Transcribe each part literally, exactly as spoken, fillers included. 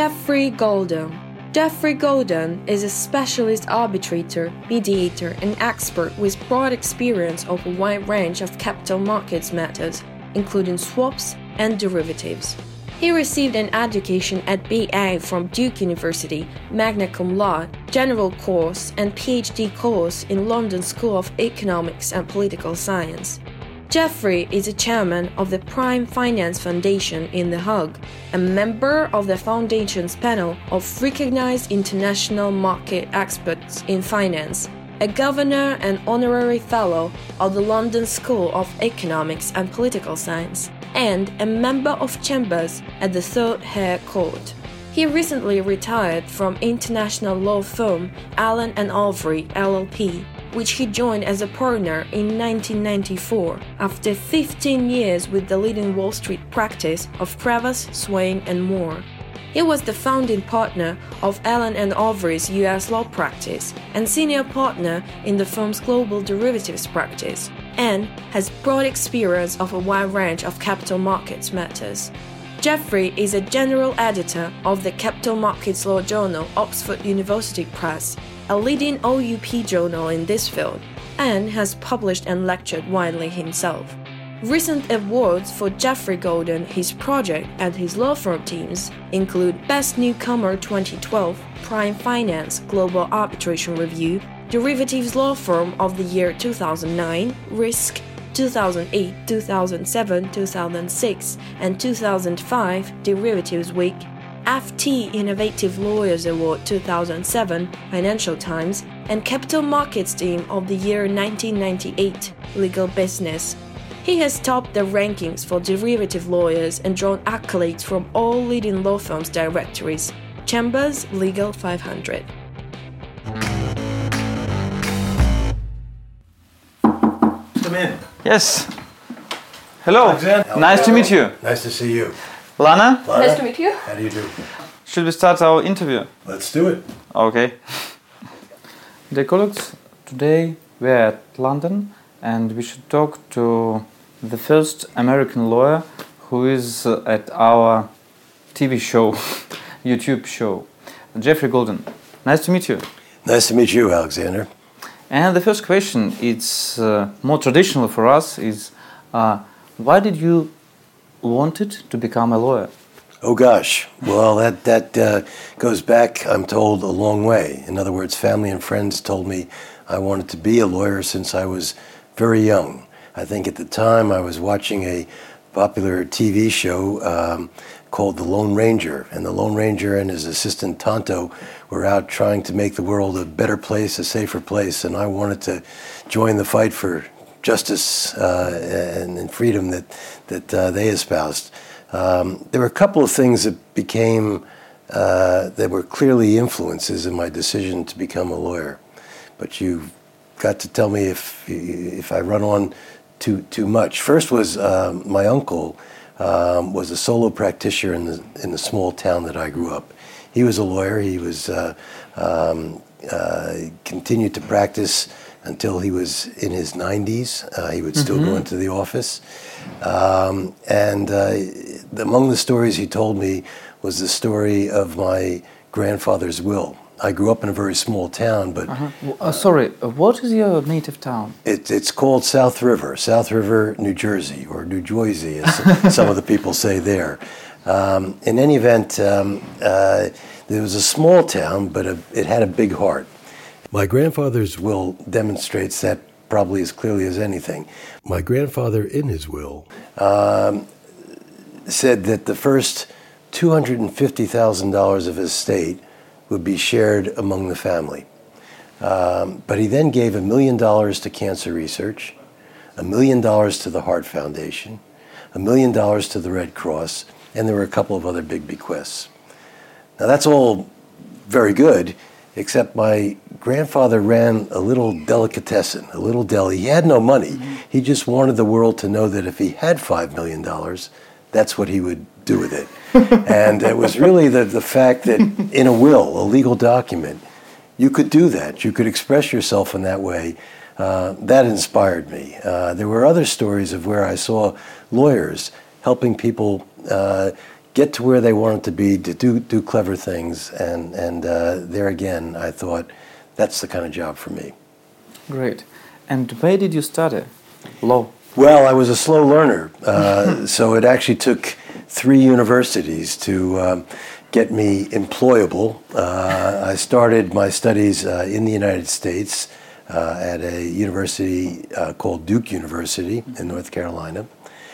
Jeffrey Golden. Jeffrey Golden is a specialist arbitrator, mediator, and expert with broad experience of a wide range of capital markets matters, including swaps and derivatives. He received an education at B A from Duke University, magna cum laude, general course, and P H D course in London School of Economics and Political Science. Jeffrey is a chairman of the Prime Finance Foundation in The Hague, a member of the foundation's panel of recognized international market experts in finance, a governor and honorary fellow of the London School of Economics and Political Science, and a member of chambers at the Third High Court. He recently retired from international law firm Allen and Overy L L P, which he joined as a partner in nineteen ninety-four, after fifteen years with the leading Wall Street practice of Cravath, Swaine and Moore. He was the founding partner of Allen and Overy's U S law practice and senior partner in the firm's global derivatives practice, and has broad experience of a wide range of capital markets matters. Jeffrey is a general editor of the Capital Markets Law journal Oxford University Press, a leading O U P journal in this field, and has published and lectured widely himself. Recent awards for Jeffrey Golden, his project, and his law firm teams include Best Newcomer twenty twelve, Prime Finance Global Arbitration Review, Derivatives Law Firm of the Year two thousand nine, Risk, two thousand eight, two thousand seven, two thousand six, and two thousand five Derivatives Week, F T Innovative Lawyers Award two thousand seven, Financial Times, and Capital Markets Team of the Year nineteen ninety-eight, Legal Business. He has topped the rankings for derivative lawyers and drawn accolades from all leading law firms' directories. Chambers Legal five hundred. Come in. Yes. Hello. Alexander. Nice to meet you. Nice to see you. Lana? Lana? Nice to meet you. How do you do? Should we start our interview? Let's do it. Okay. Dear colleagues, today we're at London and we should talk to the first American lawyer who is uh, at our T V show, YouTube show, Jeffrey Golden. Nice to meet you. Nice to meet you, Alexander. And the first question, it's uh, more traditional for us, is uh, why did you wanted to become a lawyer? Oh gosh, well that that uh, goes back, I'm told, a long way. In other words, family and friends told me I wanted to be a lawyer since I was very young. I think at the time I was watching a popular T V show um, called The Lone Ranger, and the Lone Ranger and his assistant Tonto were out trying to make the world a better place, a safer place, and I wanted to join the fight for justice uh, and, and freedom that that uh, they espoused. Um, there were a couple of things that became uh, that were clearly influences in my decision to become a lawyer. But you've got to tell me if if I run on too too much. First was um, my uncle um, was a solo practitioner in the in the small town that I grew up. He was a lawyer. He was uh, um, uh, continued to practice until he was in his nineties. Uh, he would still mm-hmm. go into the office. Um, and uh, among the stories he told me was the story of my grandfather's will. I grew up in a very small town, but... Uh-huh. Uh, sorry, what is your native town? It, it's called South River, South River, New Jersey, or New Jersey, as some of the people say there. Um, in any event, um, uh, there was a small town, but a, it had a big heart. My grandfather's will demonstrates that probably as clearly as anything. My grandfather, in his will, um, said that the first two hundred fifty thousand dollars of his estate would be shared among the family. Um, but he then gave a million dollars to cancer research, a million dollars to the Heart Foundation, a million dollars to the Red Cross, and there were a couple of other big bequests. Now that's all very good, except my grandfather ran a little delicatessen, a little deli. He had no money. Mm-hmm. He just wanted the world to know that if he had five million dollars, that's what he would do with it. And it was really the, the fact that in a will, a legal document, you could do that. You could express yourself in that way. Uh, that inspired me. Uh, there were other stories of where I saw lawyers helping people uh, get to where they wanted to be, to do do clever things, and and uh, there again, I thought that's the kind of job for me. Great. And where did you study law? Well, I was a slow learner, uh, so it actually took three universities to um, get me employable. Uh, I started my studies uh, in the United States uh, at a university uh, called Duke University in North Carolina.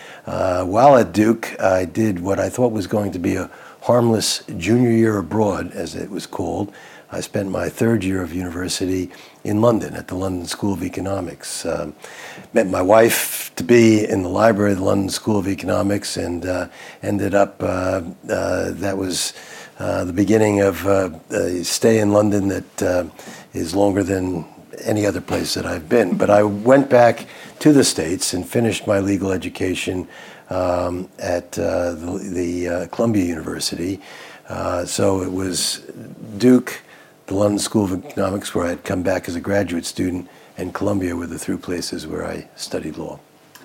Uh, while at Duke, I did what I thought was going to be a harmless junior year abroad, as it was called. I spent my third year of university in London at the London School of Economics. Um, met my wife to be in the library of the London School of Economics, and uh, ended up, uh, uh, that was uh, the beginning of uh, a stay in London that uh, is longer than any other place that I've been. But I went back to the States and finished my legal education um, at uh, the, the uh, Columbia University. Uh, so it was Duke, the London School of Economics, where I had come back as a graduate student, and Columbia were the three places where I studied law.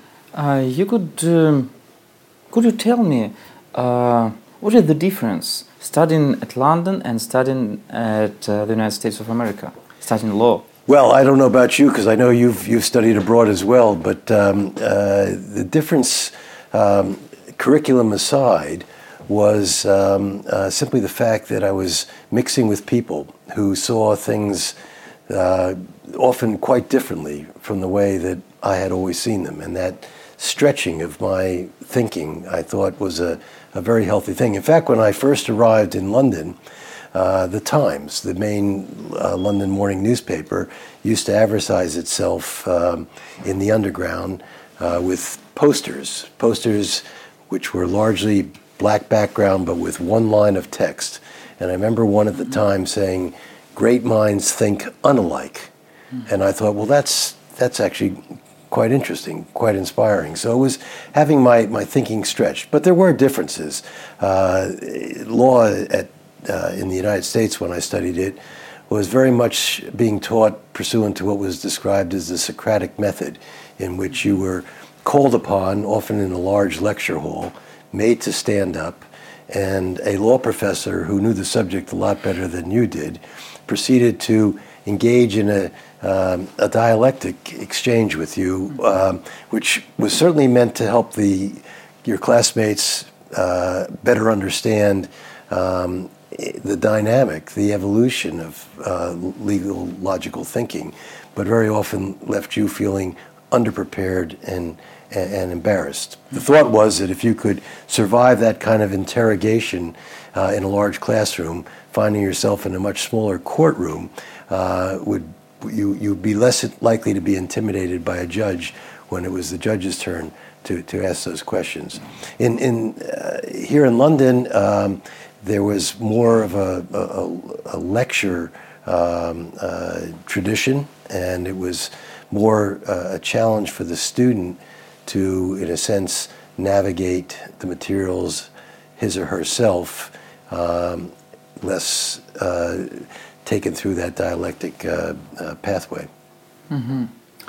Uh, you could um, could you tell me uh, what is the difference studying at London and studying at uh, the United States of America, studying law? Well, I don't know about you, because I know you've you've studied abroad as well, but um, uh, the difference, um, curriculum aside, was um, uh, simply the fact that I was mixing with people who saw things uh, often quite differently from the way that I had always seen them. And that stretching of my thinking, I thought, was a, a very healthy thing. In fact, when I first arrived in London, uh, the Times, the main uh, London morning newspaper, used to advertise itself um, in the underground uh, with posters, posters which were largely black background, but with one line of text. And I remember one at the time saying, "Great minds think unalike." Mm-hmm. And I thought, well, that's that's actually quite interesting, quite inspiring. So it was having my, my thinking stretched. But there were differences. Uh, law at uh, in the United States, when I studied it, was very much being taught pursuant to what was described as the Socratic method, in which you were called upon, often in a large lecture hall, made to stand up, and a law professor who knew the subject a lot better than you did proceeded to engage in a, um, a dialectic exchange with you, um, which was certainly meant to help the your classmates uh, better understand um, the dynamic, the evolution of uh, legal logical thinking, but very often left you feeling underprepared and and embarrassed. The thought was that if you could survive that kind of interrogation uh, in a large classroom, finding yourself in a much smaller courtroom, uh, would you you'd be less likely to be intimidated by a judge when it was the judge's turn to, to ask those questions. In in uh, here in London, um, there was more of a, a, a lecture um, uh, tradition, and it was more uh, a challenge for the student to, in a sense, navigate the materials his or herself, um, less uh, taken through that dialectic uh, uh, pathway. Mm-hmm.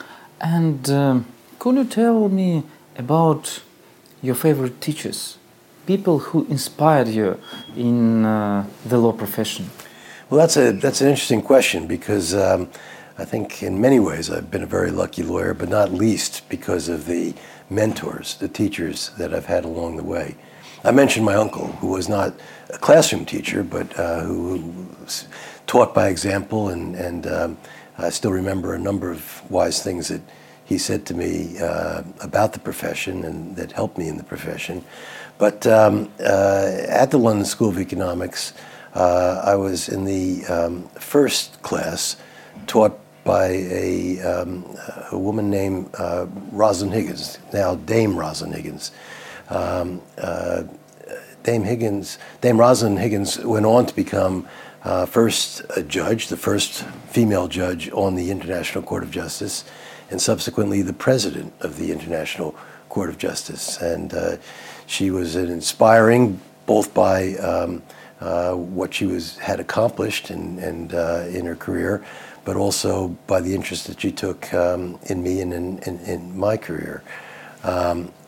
And um, could you tell me about your favorite teachers, people who inspired you in uh, the law profession? Well, that's a that's an interesting question, because um, I think in many ways I've been a very lucky lawyer, but not least because of the mentors, the teachers that I've had along the way. I mentioned my uncle, who was not a classroom teacher, but uh, who, who was taught by example, and, and um, I still remember a number of wise things that he said to me uh, about the profession and that helped me in the profession. But um, uh, at the London School of Economics, uh, I was in the um, first class taught by a, um, a woman named uh, Rosalind Higgins, now Dame Rosalind Higgins. Um, uh, Dame Higgins, Dame Rosalind Higgins went on to become uh, first a judge, the first female judge on the International Court of Justice, and subsequently the president of the International Court of Justice. And uh, she was an inspiring, both by um, uh, what she was had accomplished and, and uh, in her career, but also by the interest that she took um, in me and in, in, in my career. Um,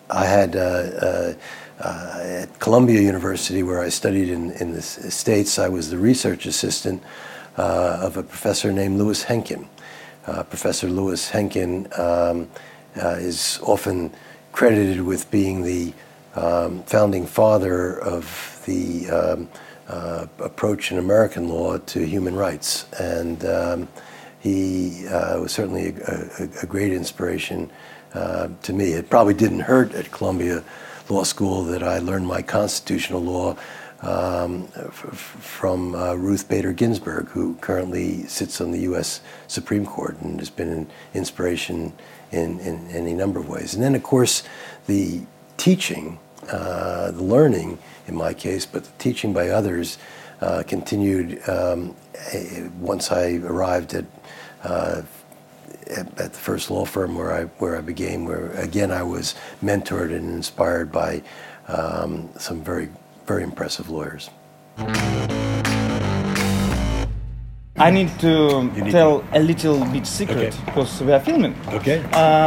I had uh, uh, uh, at Columbia University, where I studied in, in the States, I was the research assistant uh, of a professor named Louis Henkin. Uh, Professor Louis Henkin um, uh, is often credited with being the um, founding father of the um, uh, approach in American law to human rights. And um, he uh, was certainly a, a, a great inspiration uh, to me. It probably didn't hurt at Columbia Law School that I learned my constitutional law Um, f- from uh, Ruth Bader Ginsburg, who currently sits on the U S Supreme Court and has been an inspiration in, in, in any number of ways. And then, of course, the teaching, uh, the learning in my case, but the teaching by others uh, continued um, once I arrived at, uh, at at the first law firm where I where I began. Where again I was mentored and inspired by um, some very very impressive lawyers. I need to need tell to. a little bit secret Okay. because we are filming. Okay.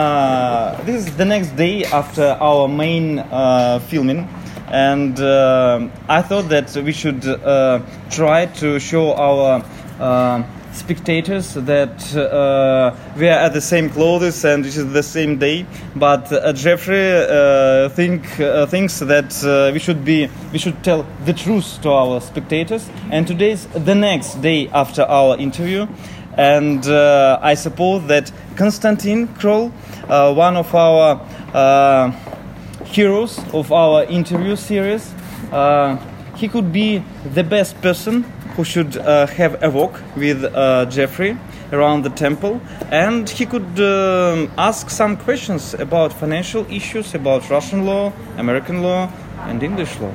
Uh, this is the next day after our main uh, filming, and uh, I thought that we should uh, try to show our uh, spectators that uh, we are at the same clothes and it is the same day. But uh, Jeffrey uh, think uh, thinks that uh, we should be we should tell the truth to our spectators. And today is the next day after our interview, and uh, I suppose that Konstantin Kroll, uh, one of our uh, heroes of our interview series, uh, he could be the best person who should uh, have a walk with uh, Jeffrey around the temple, and he could um, ask some questions about financial issues, about Russian law, American law, and English law.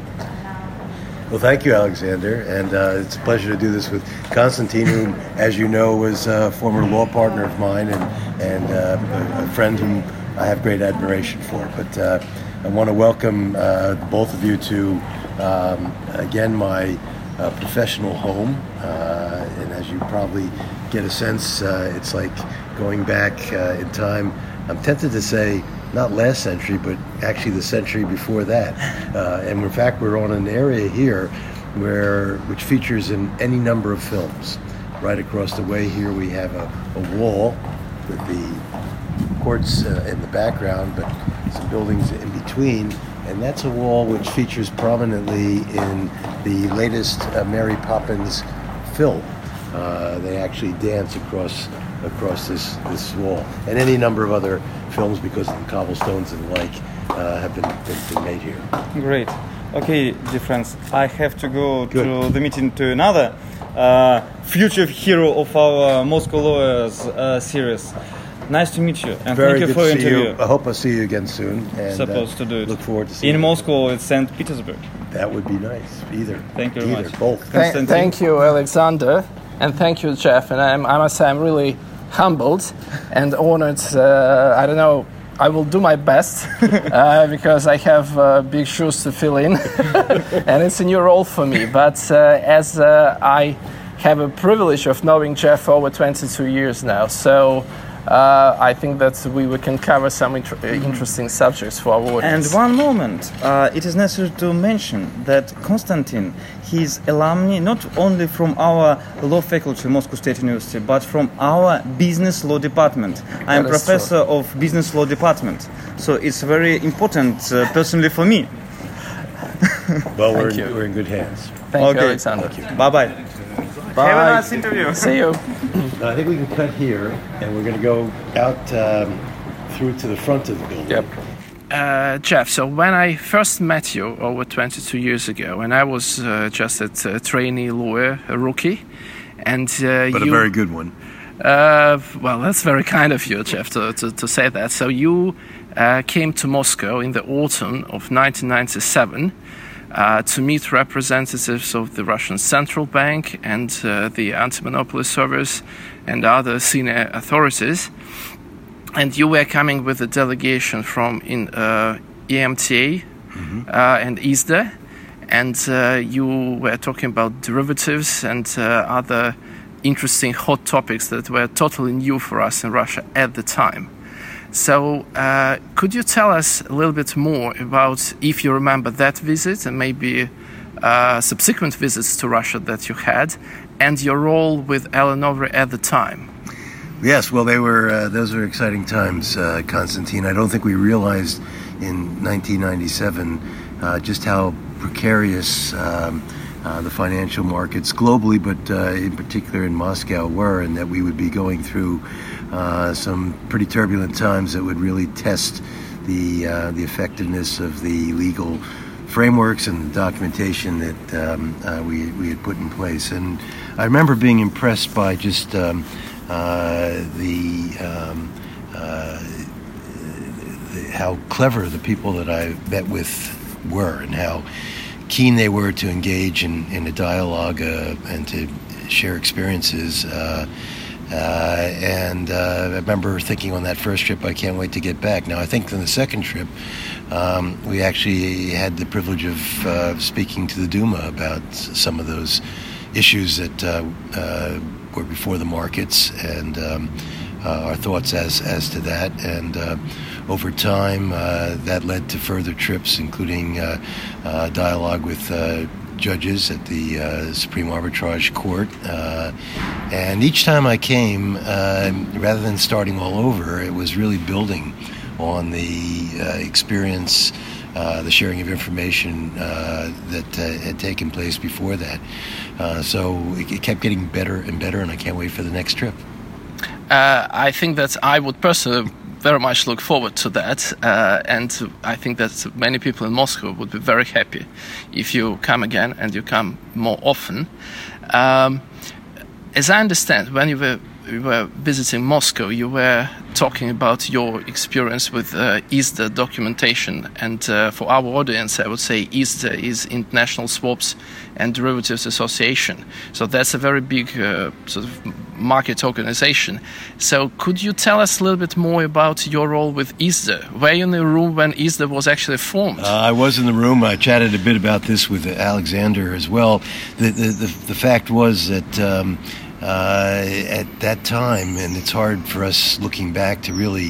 Well, thank you, Alexander, and uh, it's a pleasure to do this with Konstantin, who, as you know, was a former law partner of mine and, and uh, a, a friend whom I have great admiration for. But uh, I want to welcome uh, both of you to, um, again, my Uh, professional home, uh, and as you probably get a sense, uh, it's like going back uh, in time. I'm tempted to say not last century, but actually the century before that. Uh, and in fact, we're on an area here where which features in any number of films. Right across the way here, we have a, a wall with the courts uh, in the background, but some buildings in between. And that's a wall which features prominently in the latest uh, Mary Poppins film. Uh, they actually dance across across this, this wall. And any number of other films, because of the cobblestones and the like, uh, have been, been, been made here. Great. Okay, dear friends, I have to go Good. to the meeting to another uh, future hero of our Moscow Lawyers uh, series. Nice to meet you, and Very thank you good for to your see interview. you. I hope I'll see you again soon. And, Supposed uh, to do it. Look forward to seeing in you. Moscow, it's Saint Petersburg. That would be nice. Either. Thank you very Either. much. Both. Th- Konstantin. thank you, Alexander, and thank you, Jeff. And I'm, I must say, I'm really humbled and honored. Uh, I don't know. I will do my best uh, because I have uh, big shoes to fill in, and it's a new role for me. But uh, as uh, I have a privilege of knowing Jeff for over twenty-two years now, so. Uh, I think that we, we can cover some inter- interesting subjects for our audience. And one moment, uh, it is necessary to mention that Konstantin, he is alumni not only from our law faculty, Moscow State University, but from our business law department. I am That is professor of business law department, so it's very important uh, personally for me. Well, we're in, you. we're in good hands. Thank Okay. you, Alexander. Bye bye. Bye. Have a nice interview. See you. Now, I think we can cut here, and we're going to go out um, through to the front of the building. Yep. Uh, Jeff, so when I first met you over twenty-two years ago, and I was uh, just a uh, trainee lawyer, a rookie, and uh, But you, a very good one. Uh, well, that's very kind of you, Jeff, to, to, to say that. So you uh, came to Moscow in the autumn of nineteen ninety-seven uh, to meet representatives of the Russian Central Bank and uh, the Anti-Monopoly Service and other senior authorities. And you were coming with a delegation from in uh, E M T A mm-hmm. uh, and I S D A, and uh, you were talking about derivatives and uh, other interesting hot topics that were totally new for us in Russia at the time. So uh, could you tell us a little bit more about, if you remember that visit and maybe uh, subsequent visits to Russia that you had, and your role with Ellen Overy at the time? Yes, well, they were uh, those were exciting times, uh, Konstantin. I don't think we realized in nineteen ninety-seven uh, just how precarious um, uh, the financial markets globally, but uh, in particular in Moscow, were, and that we would be going through uh, some pretty turbulent times that would really test the uh, the effectiveness of the legal frameworks and the documentation that um, uh, we we had put in place. And I remember being impressed by just um, uh, the, um, uh, the how clever the people that I met with were, and how keen they were to engage in, in a dialogue uh, and to share experiences. Uh, uh, and uh, I remember thinking on that first trip, I can't wait to get back. Now, I think on the second trip, um, we actually had the privilege of uh, speaking to the Duma about some of those issues that uh, uh, were before the markets, and um, uh, our thoughts as, as to that. And uh, over time, uh, that led to further trips, including uh, uh, dialogue with uh, judges at the uh, Supreme Arbitrage Court. Uh, and each time I came, uh, rather than starting all over, it was really building on the uh, experience, uh, the sharing of information uh, that uh, had taken place before that. Uh, so it, it kept getting better and better, and I can't wait for the next trip. Uh, I think that I would personally very much look forward to that, uh, and I think that many people in Moscow would be very happy if you come again and you come more often. Um, as I understand, when you were you were visiting Moscow, you were talking about your experience with uh, I S D A documentation, and uh, for our audience, I would say I S D A is International Swaps and Derivatives Association. So that's a very big uh, sort of market organization. So could you tell us a little bit more about your role with I S D A? Were you in the room when I S D A was actually formed? Uh, I was in the room. I chatted a bit about this with Alexander as well. The the the, the fact was that um, uh, at that time, and it's hard for us looking back to really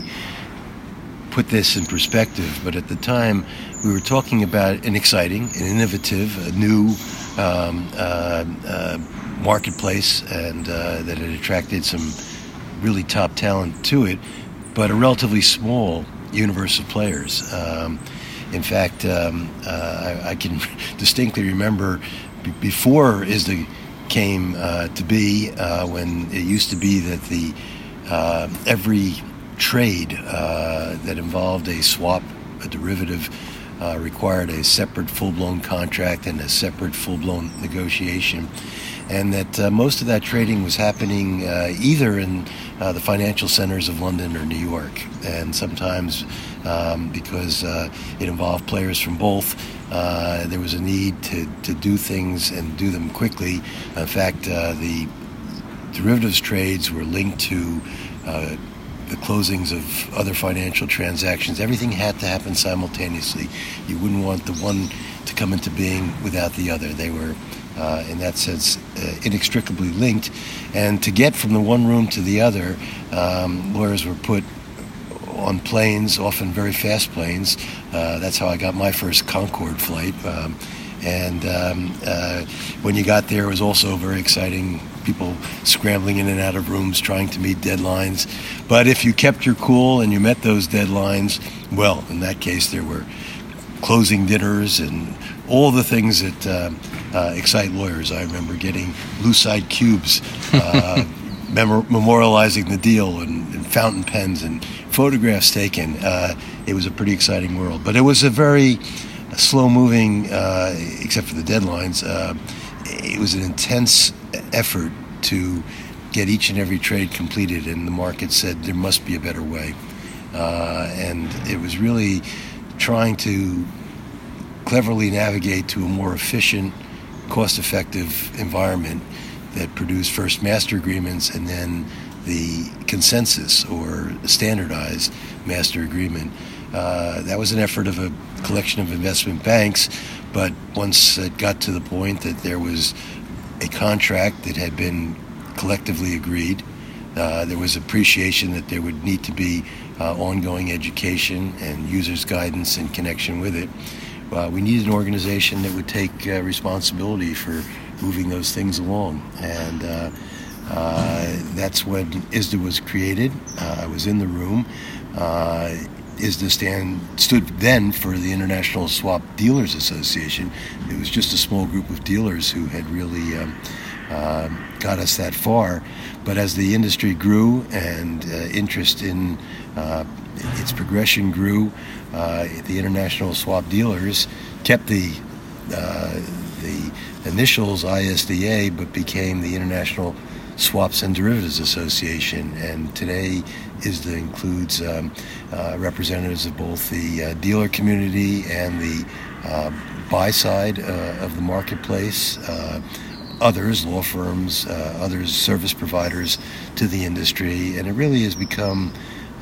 put this in perspective, but at the time we were talking about an exciting, an innovative, a new um, uh, uh, marketplace, and uh, that had attracted some really top talent to it, but a relatively small universe of players. Um, in fact, um, uh, I, I can distinctly remember b- before I S D A came uh, to be, uh, when it used to be that the uh, every trade uh, that involved a swap, a derivative, uh, required a separate full-blown contract and a separate full-blown negotiation. And that uh, most of that trading was happening uh, either in uh, the financial centers of London or New York, and sometimes um, because uh, it involved players from both, uh, there was a need to, to do things and do them quickly. In fact, uh, the derivatives trades were linked to uh, the closings of other financial transactions. Everything had to happen simultaneously. You wouldn't want the one to come into being without the other. They were Uh, in that sense, uh, inextricably linked. And to get from the one room to the other, um, lawyers were put on planes, often very fast planes. Uh, that's how I got my first Concorde flight. Um, and um, uh, when you got there, it was also very exciting. People scrambling in and out of rooms, trying to meet deadlines. But if you kept your cool and you met those deadlines, well, in that case, there were closing dinners and all the things that uh, uh, excite lawyers. I remember getting Lucite cubes, uh, mem- memorializing the deal, and, and fountain pens and photographs taken. Uh, it was a pretty exciting world. But it was a very slow-moving, uh, except for the deadlines, uh, it was an intense effort to get each and every trade completed, and the market said there must be a better way. Uh, and it was really trying to cleverly navigate to a more efficient, cost-effective environment that produced first master agreements and then the consensus or standardized master agreement. Uh, that was an effort of a collection of investment banks, but once it got to the point that there was a contract that had been collectively agreed, uh, there was appreciation that there would need to be uh, ongoing education and users' guidance in connection with it. Uh, we needed an organization that would take uh, responsibility for moving those things along. And uh, uh, that's when I S D A was created. Uh, I was in the room. Uh, I S D A stand, stood then for the International Swap Dealers Association. It was just a small group of dealers who had really um, uh, got us that far. But as the industry grew and uh, interest in uh, its progression grew, uh, the International Swap Dealers kept the uh, the initials I S D A, but became the International Swaps and Derivatives Association. And today I S D A includes um, uh, representatives of both the uh, dealer community and the uh, buy side uh, of the marketplace. Uh, others, law firms, uh, others, service providers to the industry, and it really has become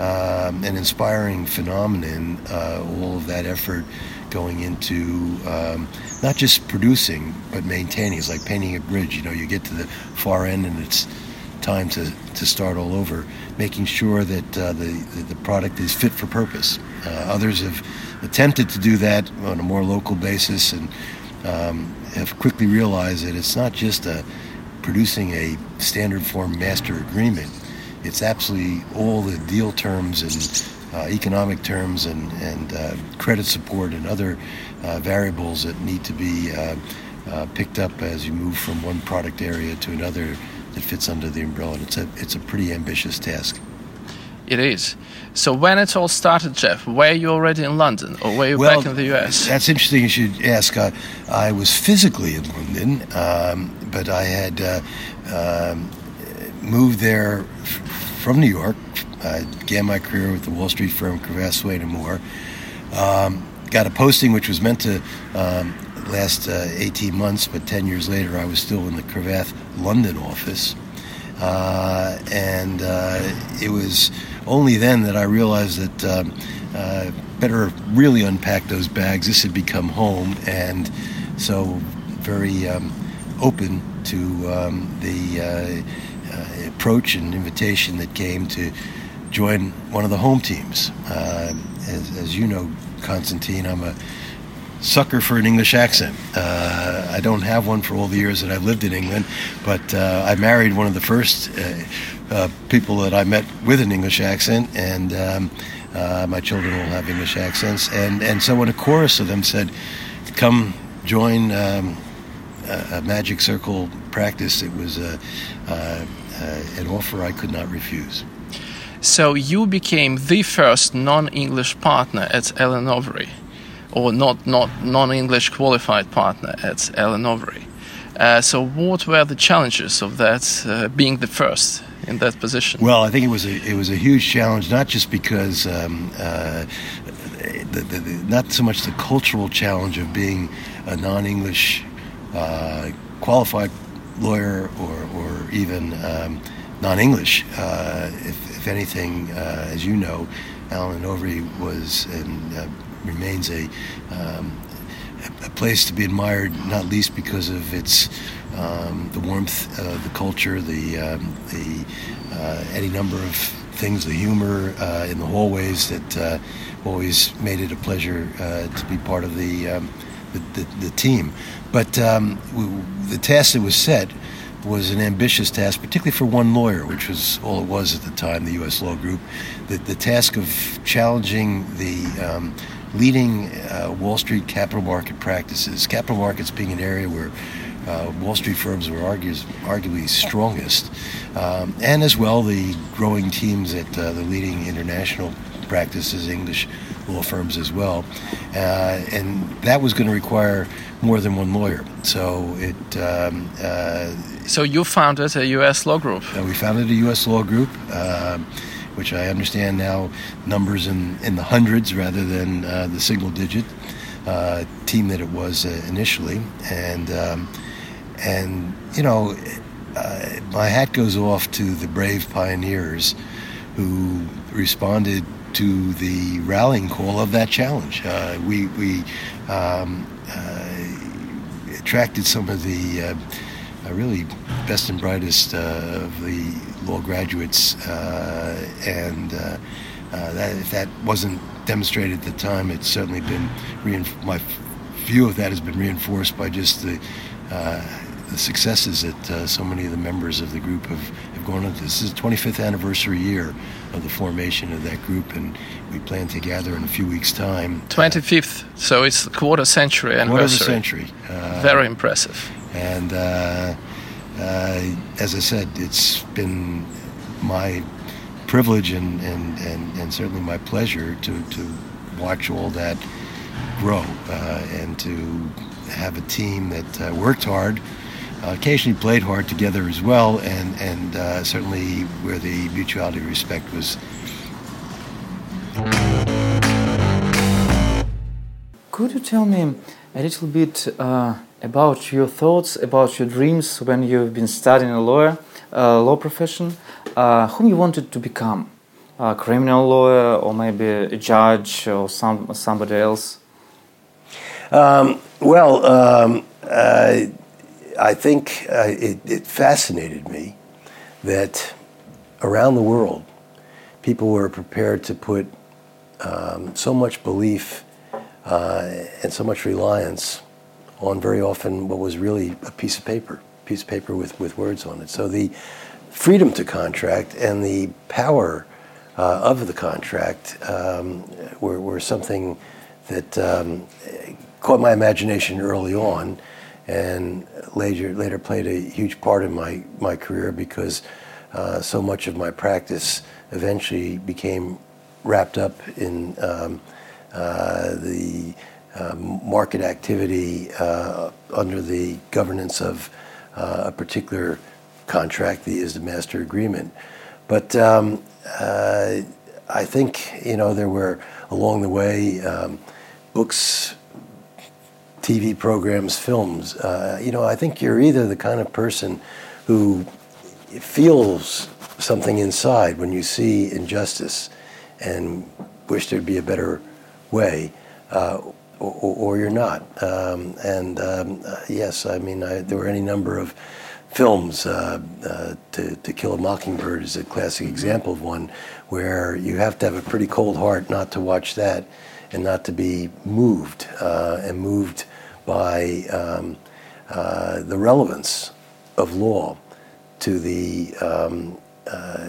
um, an inspiring phenomenon, uh, all of that effort going into um, not just producing, but maintaining. It's like painting a bridge. You know, you get to the far end and it's time to, to start all over, making sure that uh, the, the product is fit for purpose. Uh, others have attempted to do that on a more local basis and um, have quickly realized that it's not just a, producing a standard form master agreement. It's absolutely all the deal terms and uh, economic terms and, and uh, credit support and other uh, variables that need to be uh, uh, picked up as you move from one product area to another that fits under the umbrella. It's a, it's a pretty ambitious task. It is. So when it all started, Jeff, were you already in London or were you well, back in the U S? That's interesting you should ask. Uh, I was physically in London, um, but I had uh, um, moved there f- from New York. I began my career with the Wall Street firm Cravath, Swaine and Moore. Um, got a posting which was meant to um, last uh, eighteen months, but ten years later I was still in the Cravath London office. Uh, and uh, it was only then that I realized that um, uh, better really unpack those bags. This had become home, and so very um, open to um, the uh, uh, approach and invitation that came to join one of the home teams. Uh, as, as you know, Constantine, I'm a sucker for an English accent. Uh, I don't have one for all the years that I've lived in England, but uh, I married one of the first uh, uh, people that I met with an English accent, and um, uh, my children all have English accents. And, and so when a chorus of them said, come join um, a, a Magic Circle practice, it was uh, uh, uh, an offer I could not refuse. So you became the first non-English partner at Allen Overy, or not, not non-English qualified partner at Allen Overy. Uh, so what were the challenges of that, uh, being the first in that position? Well, I think it was a it was a huge challenge, not just because um, uh, the, the, the, not so much the cultural challenge of being a non-English uh, qualified lawyer or or even um, non-English. Uh, if, if anything, uh, as you know, Allen Overy was and uh, remains a, um, a place to be admired, not least because of its um, the warmth, uh, the culture, the um, the uh, any number of things, the humor uh, in the hallways that uh, always made it a pleasure uh, to be part of the um, the, the, the team. But um, we, the task that was set was an ambitious task, particularly for one lawyer, which was all it was at the time, the U S Law Group. The, the task of challenging the um, leading uh, Wall Street capital market practices, capital markets being an area where uh, Wall Street firms were argues, arguably strongest, um, and as well the growing teams at uh, the leading international practices, English law firms as well. Uh, and that was going to require more than one lawyer. So it... Um, uh, so you founded a U S law group. Uh, we founded a U S law group, uh, which I understand now numbers in, in the hundreds rather than uh, the single digit uh, team that it was uh, initially. And, um, and you know, uh, my hat goes off to the brave pioneers who responded to the rallying call of that challenge. Uh, we we um, uh, attracted some of the uh, uh, really best and brightest uh, of the law graduates uh, and uh, Uh, that, if that wasn't demonstrated at the time, it's certainly been reinf- my f- view of that has been reinforced by just the uh, the successes that uh, so many of the members of the group have, have gone on. This is the twenty-fifth anniversary year of the formation of that group, and we plan to gather in a few weeks' time. twenty-fifth, so it's the quarter century anniversary. Quarter of a century. Uh, Very impressive. And uh, uh, as I said, it's been my privilege and, and, and, and certainly my pleasure to, to watch all that grow uh, and to have a team that uh, worked hard, uh, occasionally played hard together as well, and, and uh, certainly where the mutuality of respect was. Could you tell me a little bit uh, about your thoughts, about your dreams when you've been studying a lawyer, uh, law profession, uh, whom you wanted to become? A criminal lawyer, or maybe a judge, or some somebody else? Um, well, um, uh, I think uh, it, it fascinated me that around the world, people were prepared to put um, so much belief uh, and so much reliance on very often what was really a piece of paper, piece of paper with, with words on it. So the freedom to contract and the power uh, of the contract um, were, were something that um, caught my imagination early on, and later later played a huge part in my, my career, because uh, so much of my practice eventually became wrapped up in um, uh, the uh, market activity uh, under the governance of uh, a particular contract, the is the master agreement. But um, uh, I think, you know, there were along the way um, books, T V programs, films. Uh, you know, I think you're either the kind of person who feels something inside when you see injustice and wish there'd be a better way, uh, or, or you're not. Um, and um, uh, yes, I mean, I, there were any number of films. Uh, uh, to, to Kill a Mockingbird is a classic example of one where you have to have a pretty cold heart not to watch that and not to be moved, uh, and moved by um, uh, the relevance of law to the um, uh,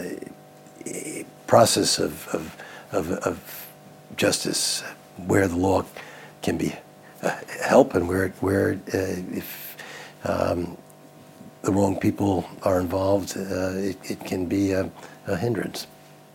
process of, of, of, of justice, where the law can be uh, help and where, where uh, if um, the wrong people are involved, uh, it, it can be a, a hindrance.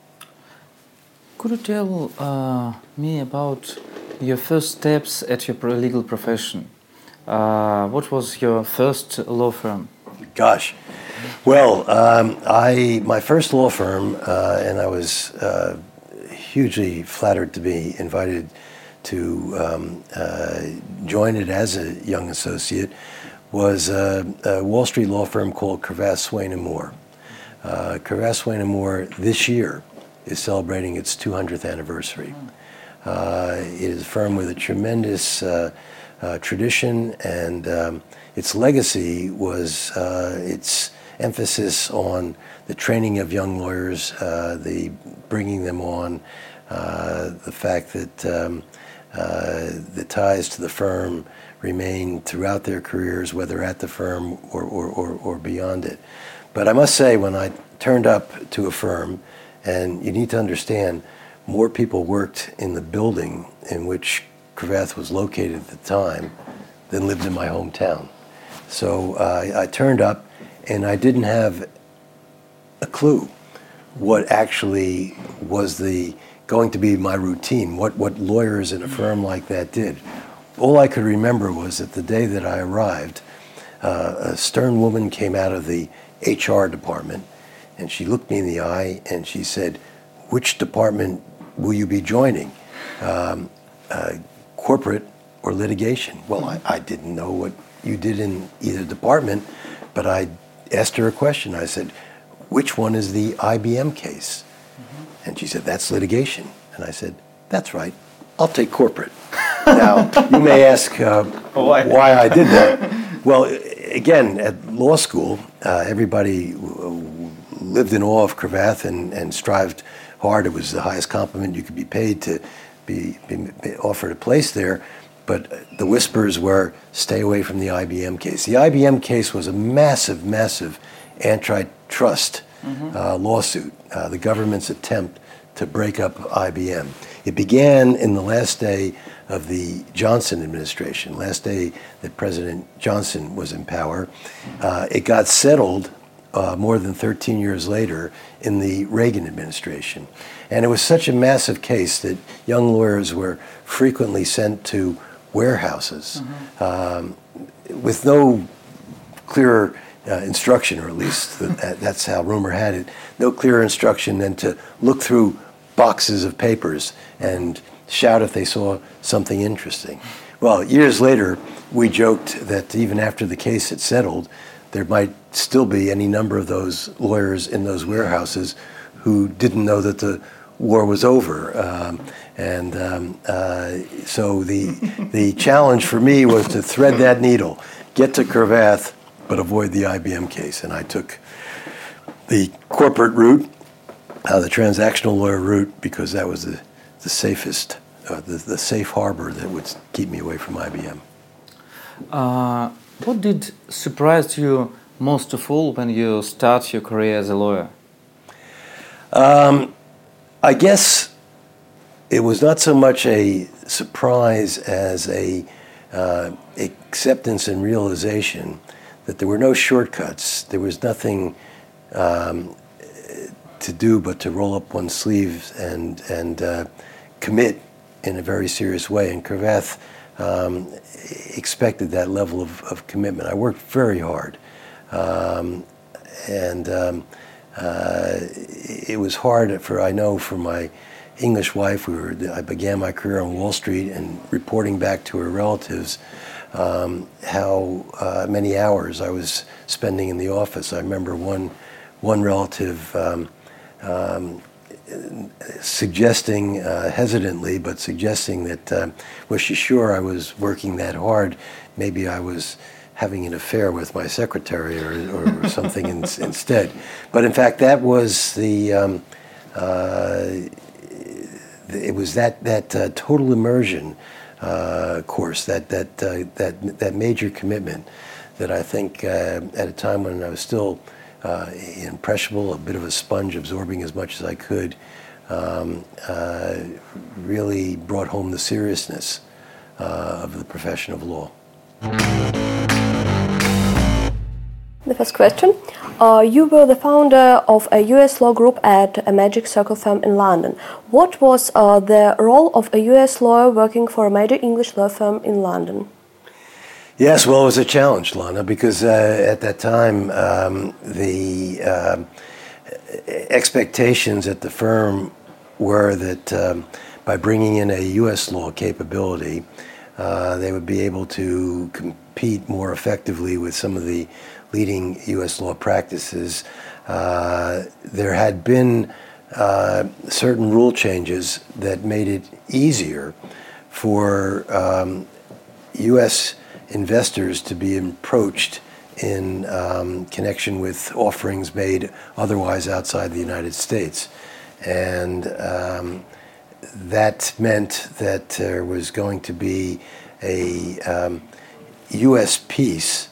Could you tell uh, me about your first steps at your legal profession? Uh, what was your first law firm? Gosh, well, um, I my first law firm, uh, and I was uh, hugely flattered to be invited to um, uh, join it as a young associate, was a, a Wall Street law firm called Cravath, Swaine and Moore. Uh, Cravath, Swaine and Moore this year is celebrating its two hundredth anniversary. Uh, it is a firm with a tremendous uh, uh, tradition, and um, its legacy was uh, its emphasis on the training of young lawyers, uh, the bringing them on, uh, the fact that um, uh, the ties to the firm remain throughout their careers, whether at the firm or, or, or, or beyond it. But I must say, when I turned up to a firm, and you need to understand, more people worked in the building in which Cravath was located at the time than lived in my hometown. So uh, I turned up, and I didn't have a clue what actually was the going to be my routine, what, what lawyers in a firm like that did. All I could remember was that the day that I arrived, uh, a stern woman came out of the H R department, and she looked me in the eye and she said, "Which department will you be joining? Um, uh, corporate or litigation?" Well, I, I didn't know what you did in either department, but I asked her a question. I said, "Which one is the I B M case?" Mm-hmm. And she said, "That's litigation." And I said, "That's right. I'll take corporate." Now, you may ask uh, why? why I did that. Well, again, at law school, uh, everybody w- lived in awe of Cravath and, and strived hard. It was the highest compliment you could be paid to be, be, be offered a place there. But the whispers were, stay away from the I B M case. The I B M case was a massive, massive antitrust mm-hmm. uh, lawsuit, uh, the government's attempt to break up I B M. It began in the last day of the Johnson administration, last day that President Johnson was in power. Uh, it got settled uh, more than thirteen years later in the Reagan administration. And it was such a massive case that young lawyers were frequently sent to warehouses mm-hmm. um, with no clear uh, instruction, or at least that, that's how rumor had it, no clearer instruction than to look through boxes of papers and shout if they saw something interesting. Well, years later, we joked that even after the case had settled, there might still be any number of those lawyers in those warehouses who didn't know that the war was over. Um, and um, uh, so the, the challenge for me was to thread that needle, get to Cravath, but avoid the I B M case. And I took the corporate route, uh, the transactional lawyer route, because that was the, the safest, uh, the, the safe harbor that would keep me away from I B M. Uh, what did surprise you most of all when you start your career as a lawyer? Um, I guess it was not so much a surprise as a uh, acceptance and realization that there were no shortcuts. There was nothing um, to do but to roll up one's sleeves and and uh, commit in a very serious way. And Cravath um, expected that level of, of commitment. I worked very hard, um, and um, uh, it was hard for I know for my English wife. We were I began my career on Wall Street and reporting back to her relatives um, how uh, many hours I was spending in the office. I remember one one relative um, um, suggesting, uh, hesitantly, but suggesting that, uh, was she sure I was working that hard? Maybe I was having an affair with my secretary or, or something in, instead. But in fact, that was the, um, uh, it was that, that uh, total immersion uh, course, that, that, uh, that, that major commitment that I think uh, at a time when I was still Uh, impressionable, a bit of a sponge, absorbing as much as I could, um, uh, really brought home the seriousness uh, of the profession of law. The first question. Uh, you were the founder of a U S law group at a Magic Circle firm in London. What was uh, the role of a U S lawyer working for a major English law firm in London? Yes, well, it was a challenge, Lana, because uh, at that time, um, the uh, expectations at the firm were that um, by bringing in a U S law capability, uh, they would be able to compete more effectively with some of the leading U S law practices. Uh, there had been uh, certain rule changes that made it easier for um, U S investors to be approached in um, connection with offerings made otherwise outside the United States. And um, that meant that there was going to be a um, U S piece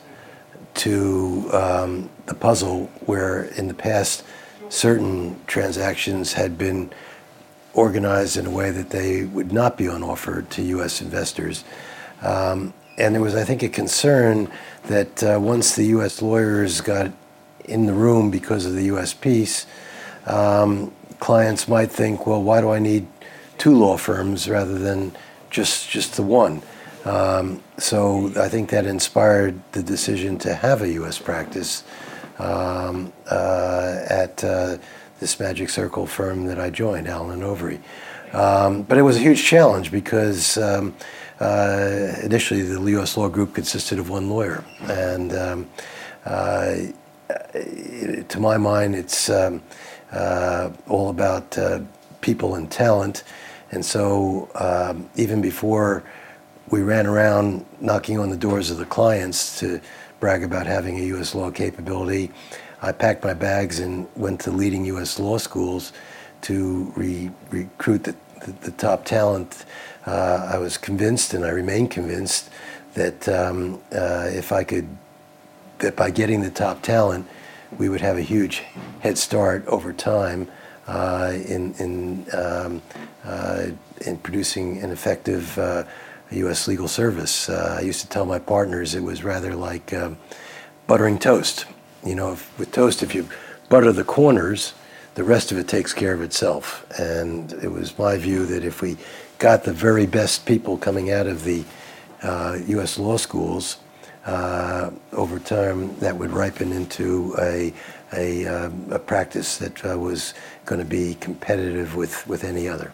to um, the puzzle, where in the past certain transactions had been organized in a way that they would not be on offer to U S investors. Um, And there was, I think, a concern that uh, once the U S lawyers got in the room because of the U S piece, um, clients might think, well, why do I need two law firms rather than just just the one? Um, so I think that inspired the decision to have a U S practice um, uh, at uh, this Magic Circle firm that I joined, Allen and Overy. Um, but it was a huge challenge because um, Uh, initially, the U S Law Group consisted of one lawyer, and um, uh, to my mind, it's um, uh, all about uh, people and talent. And so, um, even before we ran around knocking on the doors of the clients to brag about having a U S law capability, I packed my bags and went to leading U S law schools to re- recruit the, the, the top talent, uh, I was convinced, and I remain convinced, that um, uh, if I could, that by getting the top talent, we would have a huge head start over time uh, in in um, uh, in producing an effective uh, U S legal service. Uh, I used to tell my partners it was rather like um, buttering toast. You know, if, with toast, if you butter the corners, the rest of it takes care of itself. And it was my view that if we got the very best people coming out of the uh, U S law schools, uh, over time that would ripen into a a, um, a practice that uh, was going to be competitive with, with any other.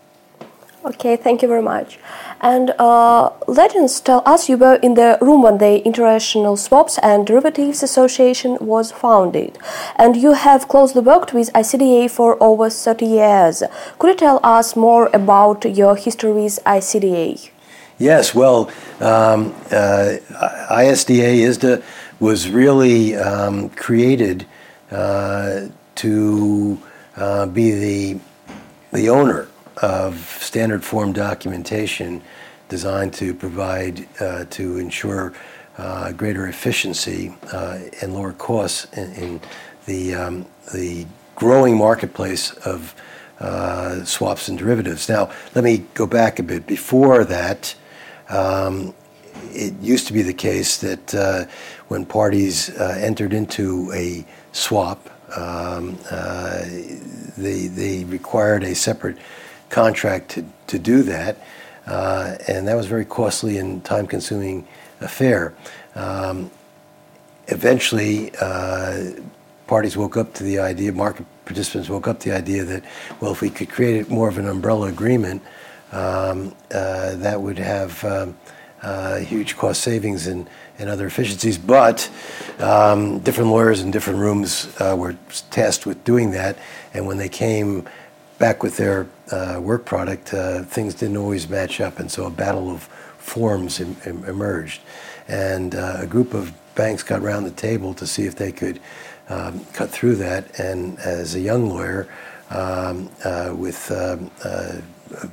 Okay, thank you very much. And uh, legends tell us you were in the room when the International Swaps and Derivatives Association was founded, and you have closely worked with I C D A for over thirty years. Could you tell us more about your history with I C D A? Yes, well, um, uh, I S D A, I S D A, was really um, created uh, to uh, be the the owner of standard form documentation designed to provide, uh, to ensure uh, greater efficiency uh, and lower costs in, in the um, the growing marketplace of uh, swaps and derivatives. Now, let me go back a bit. Before that, um, it used to be the case that uh, when parties uh, entered into a swap, um, uh, they they required a separate contract to, to do that, uh, and that was a very costly and time-consuming affair. Um, eventually, uh, parties woke up to the idea, market participants woke up to the idea that, well, if we could create more of an umbrella agreement, um, uh, that would have um, uh, huge cost savings and, and other efficiencies. But um, different lawyers in different rooms uh, were tasked with doing that, and when they came back with their uh, work product, uh, things didn't always match up, and so a battle of forms em- em- emerged. And uh, a group of banks got around the table to see if they could um, cut through that. And as a young lawyer, um, uh, with um, uh, a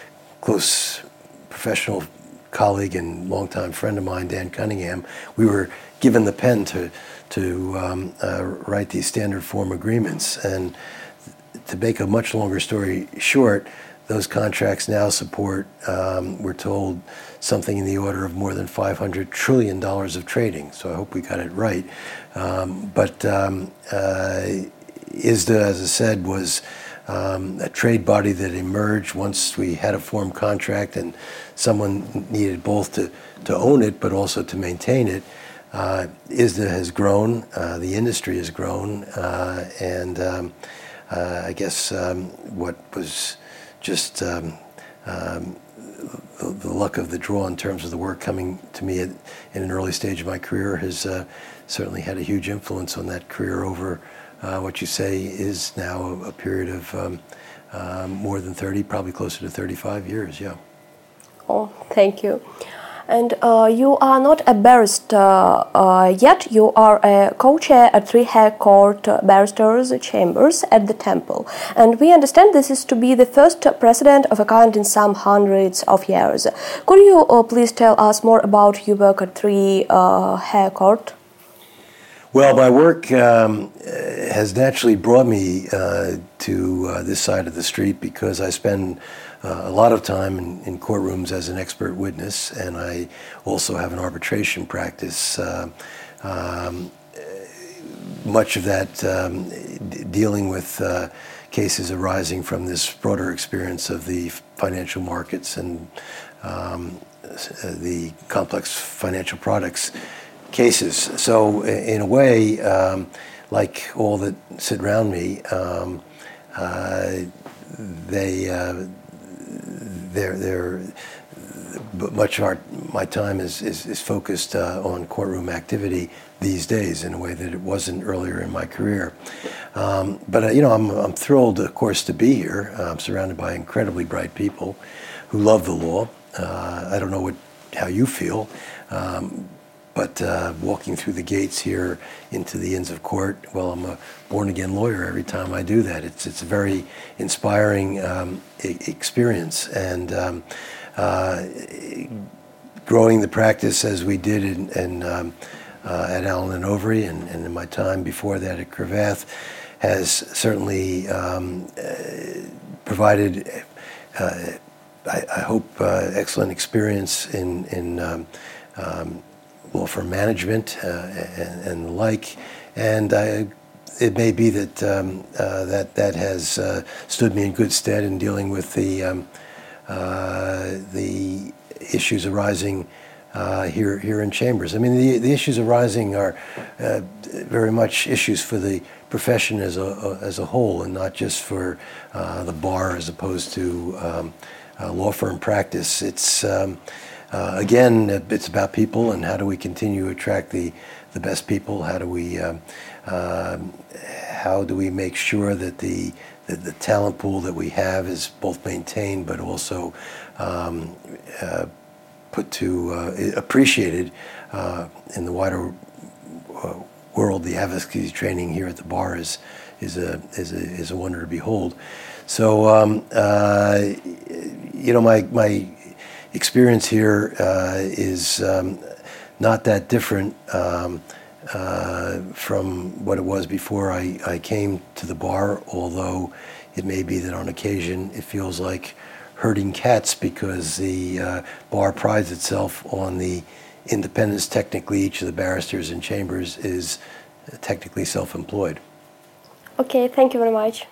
close professional colleague and longtime friend of mine, Dan Cunningham, we were given the pen to to um, uh, write these standard form agreements. And to make a much longer story short, those contracts now support, um, we're told, something in the order of more than five hundred trillion dollars of trading. So I hope we got it right. Um, but um, uh, I S D A, as I said, was um, a trade body that emerged once we had a form contract, and someone needed both to, to own it but also to maintain it. Uh, I S D A has grown, uh, the industry has grown, uh, and um, Uh, I guess um, what was just um, um, the, the luck of the draw in terms of the work coming to me at, in an early stage of my career has uh, certainly had a huge influence on that career over uh, what you say is now a, a period of um, uh, more than thirty, probably closer to thirty-five years, yeah. Oh, thank you. And uh, you are not a barrister uh, yet. You are a co-chair at three High Court Barristers' Chambers at the Temple. And we understand this is to be the first precedent of a kind in some hundreds of years. Could you uh, please tell us more about your work at three uh, High Court? Well, my work um, has naturally brought me uh, to uh, this side of the street because I spend Uh, a lot of time in, in courtrooms as an expert witness, and I also have an arbitration practice, uh, um, much of that um, d- dealing with uh, cases arising from this broader experience of the financial markets and um, the complex financial products cases. So in a way, um, like all that sit around me, um, uh, they uh, they're, they're much of our, my time is, is, is focused uh, on courtroom activity these days in a way that it wasn't earlier in my career. Um, but, uh, you know, I'm, I'm thrilled, of course, to be here. Uh, I'm surrounded by incredibly bright people who love the law. Uh, I don't know what how you feel. Um, but uh, walking through the gates here into the Inns of Court, well, I'm a born-again lawyer every time I do that. It's it's a very inspiring um, e- experience, and um, uh, growing the practice as we did in, in um, uh, at Allen and Overy, and, and in my time before that at Cravath, has certainly um, uh, provided, uh, I, I hope, uh, excellent experience in in um, um, law firm management uh, and, and the like, and I, it may be that um, uh, that that has uh, stood me in good stead in dealing with the um, uh, the issues arising uh, here here in Chambers. I mean, the the issues arising are uh, very much issues for the profession as a as a whole, and not just for uh, the bar as opposed to um, uh, law firm practice. It's um, uh, again, it's about people, and how do we continue to attract the the best people? How do we um, uh, how do we make sure that the, the the talent pool that we have is both maintained, but also um, uh, put to uh, appreciated uh, in the wider uh, world. The advocacy training here at the bar is is a is a is a wonder to behold. So um, uh, you know, my my experience here uh, is um, not that different um, uh, from what it was before I, I came to the bar. Although it may be that on occasion it feels like herding cats, because the uh, bar prides itself on the independence. Technically, each of the barristers in Chambers is technically self-employed. Okay, thank you very much.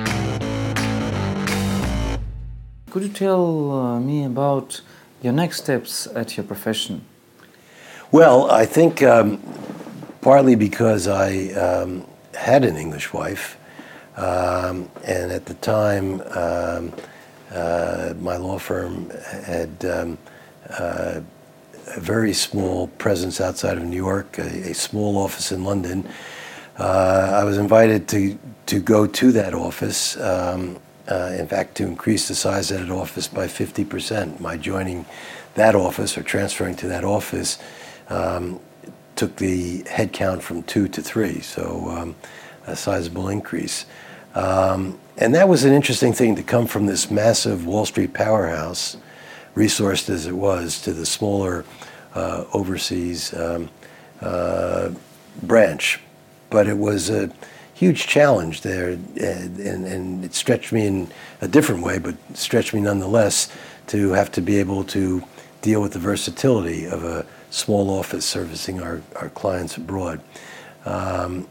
Could you tell uh, me about your next steps at your profession? Well, I think um, partly because I um, had an English wife, um, and at the time um, uh, my law firm had um, uh, a very small presence outside of New York, a, a small office in London. Uh, I was invited to, to go to that office, um, uh, in fact, to increase the size of that office by fifty percent. My joining that office, or transferring to that office, um, took the head count from two to three, so um, a sizable increase. Um, and that was an interesting thing, to come from this massive Wall Street powerhouse, resourced as it was, to the smaller uh, overseas um, uh, branch. But it was a huge challenge there, and, and, and it stretched me in a different way, but stretched me nonetheless, to have to be able to deal with the versatility of a small office servicing our, our clients abroad. Um,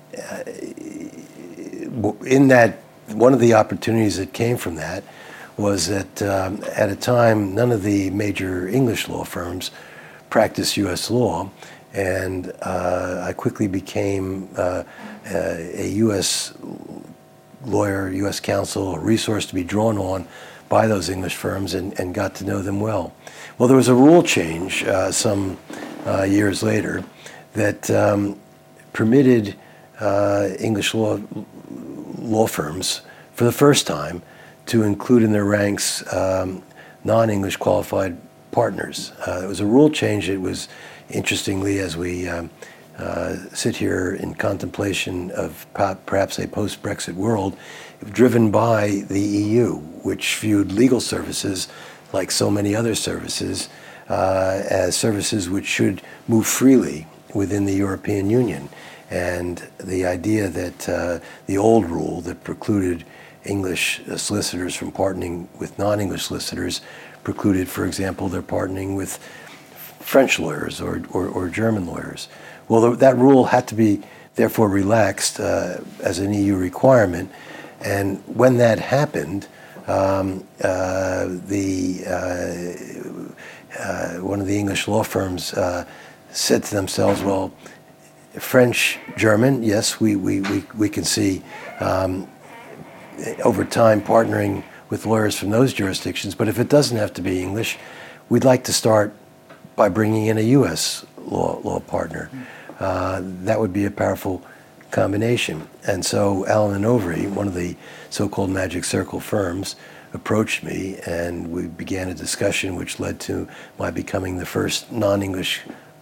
in that, one of the opportunities that came from that was that um, at a time none of the major English law firms practiced U S law, and uh, I quickly became uh, a U S lawyer, U S counsel, a resource to be drawn on by those English firms, and, and got to know them well. Well, there was a rule change uh, some uh, years later that um, permitted uh, English law law firms, for the first time, to include in their ranks um, non-English qualified partners. Uh, it was a rule change that was, interestingly, as we um, uh, sit here in contemplation of perhaps a post-Brexit world, driven by the E U, which viewed legal services, like so many other services, uh, as services which should move freely within the European Union. And the idea that uh, the old rule that precluded English solicitors from partnering with non-English solicitors precluded, for example, their partnering with French lawyers or, or, or German lawyers. Well, that rule had to be therefore relaxed uh, as an E U requirement. And when that happened, um, uh, the uh, uh, one of the English law firms uh, said to themselves, well, French, German, yes, we, we, we, we can see um, over time partnering with lawyers from those jurisdictions, but if it doesn't have to be English, we'd like to start by bringing in a U S law, law partner. Uh, that would be a powerful combination. And so Allen and Overy, one of the so-called Magic Circle firms, approached me, and we began a discussion which led to my becoming the first non-English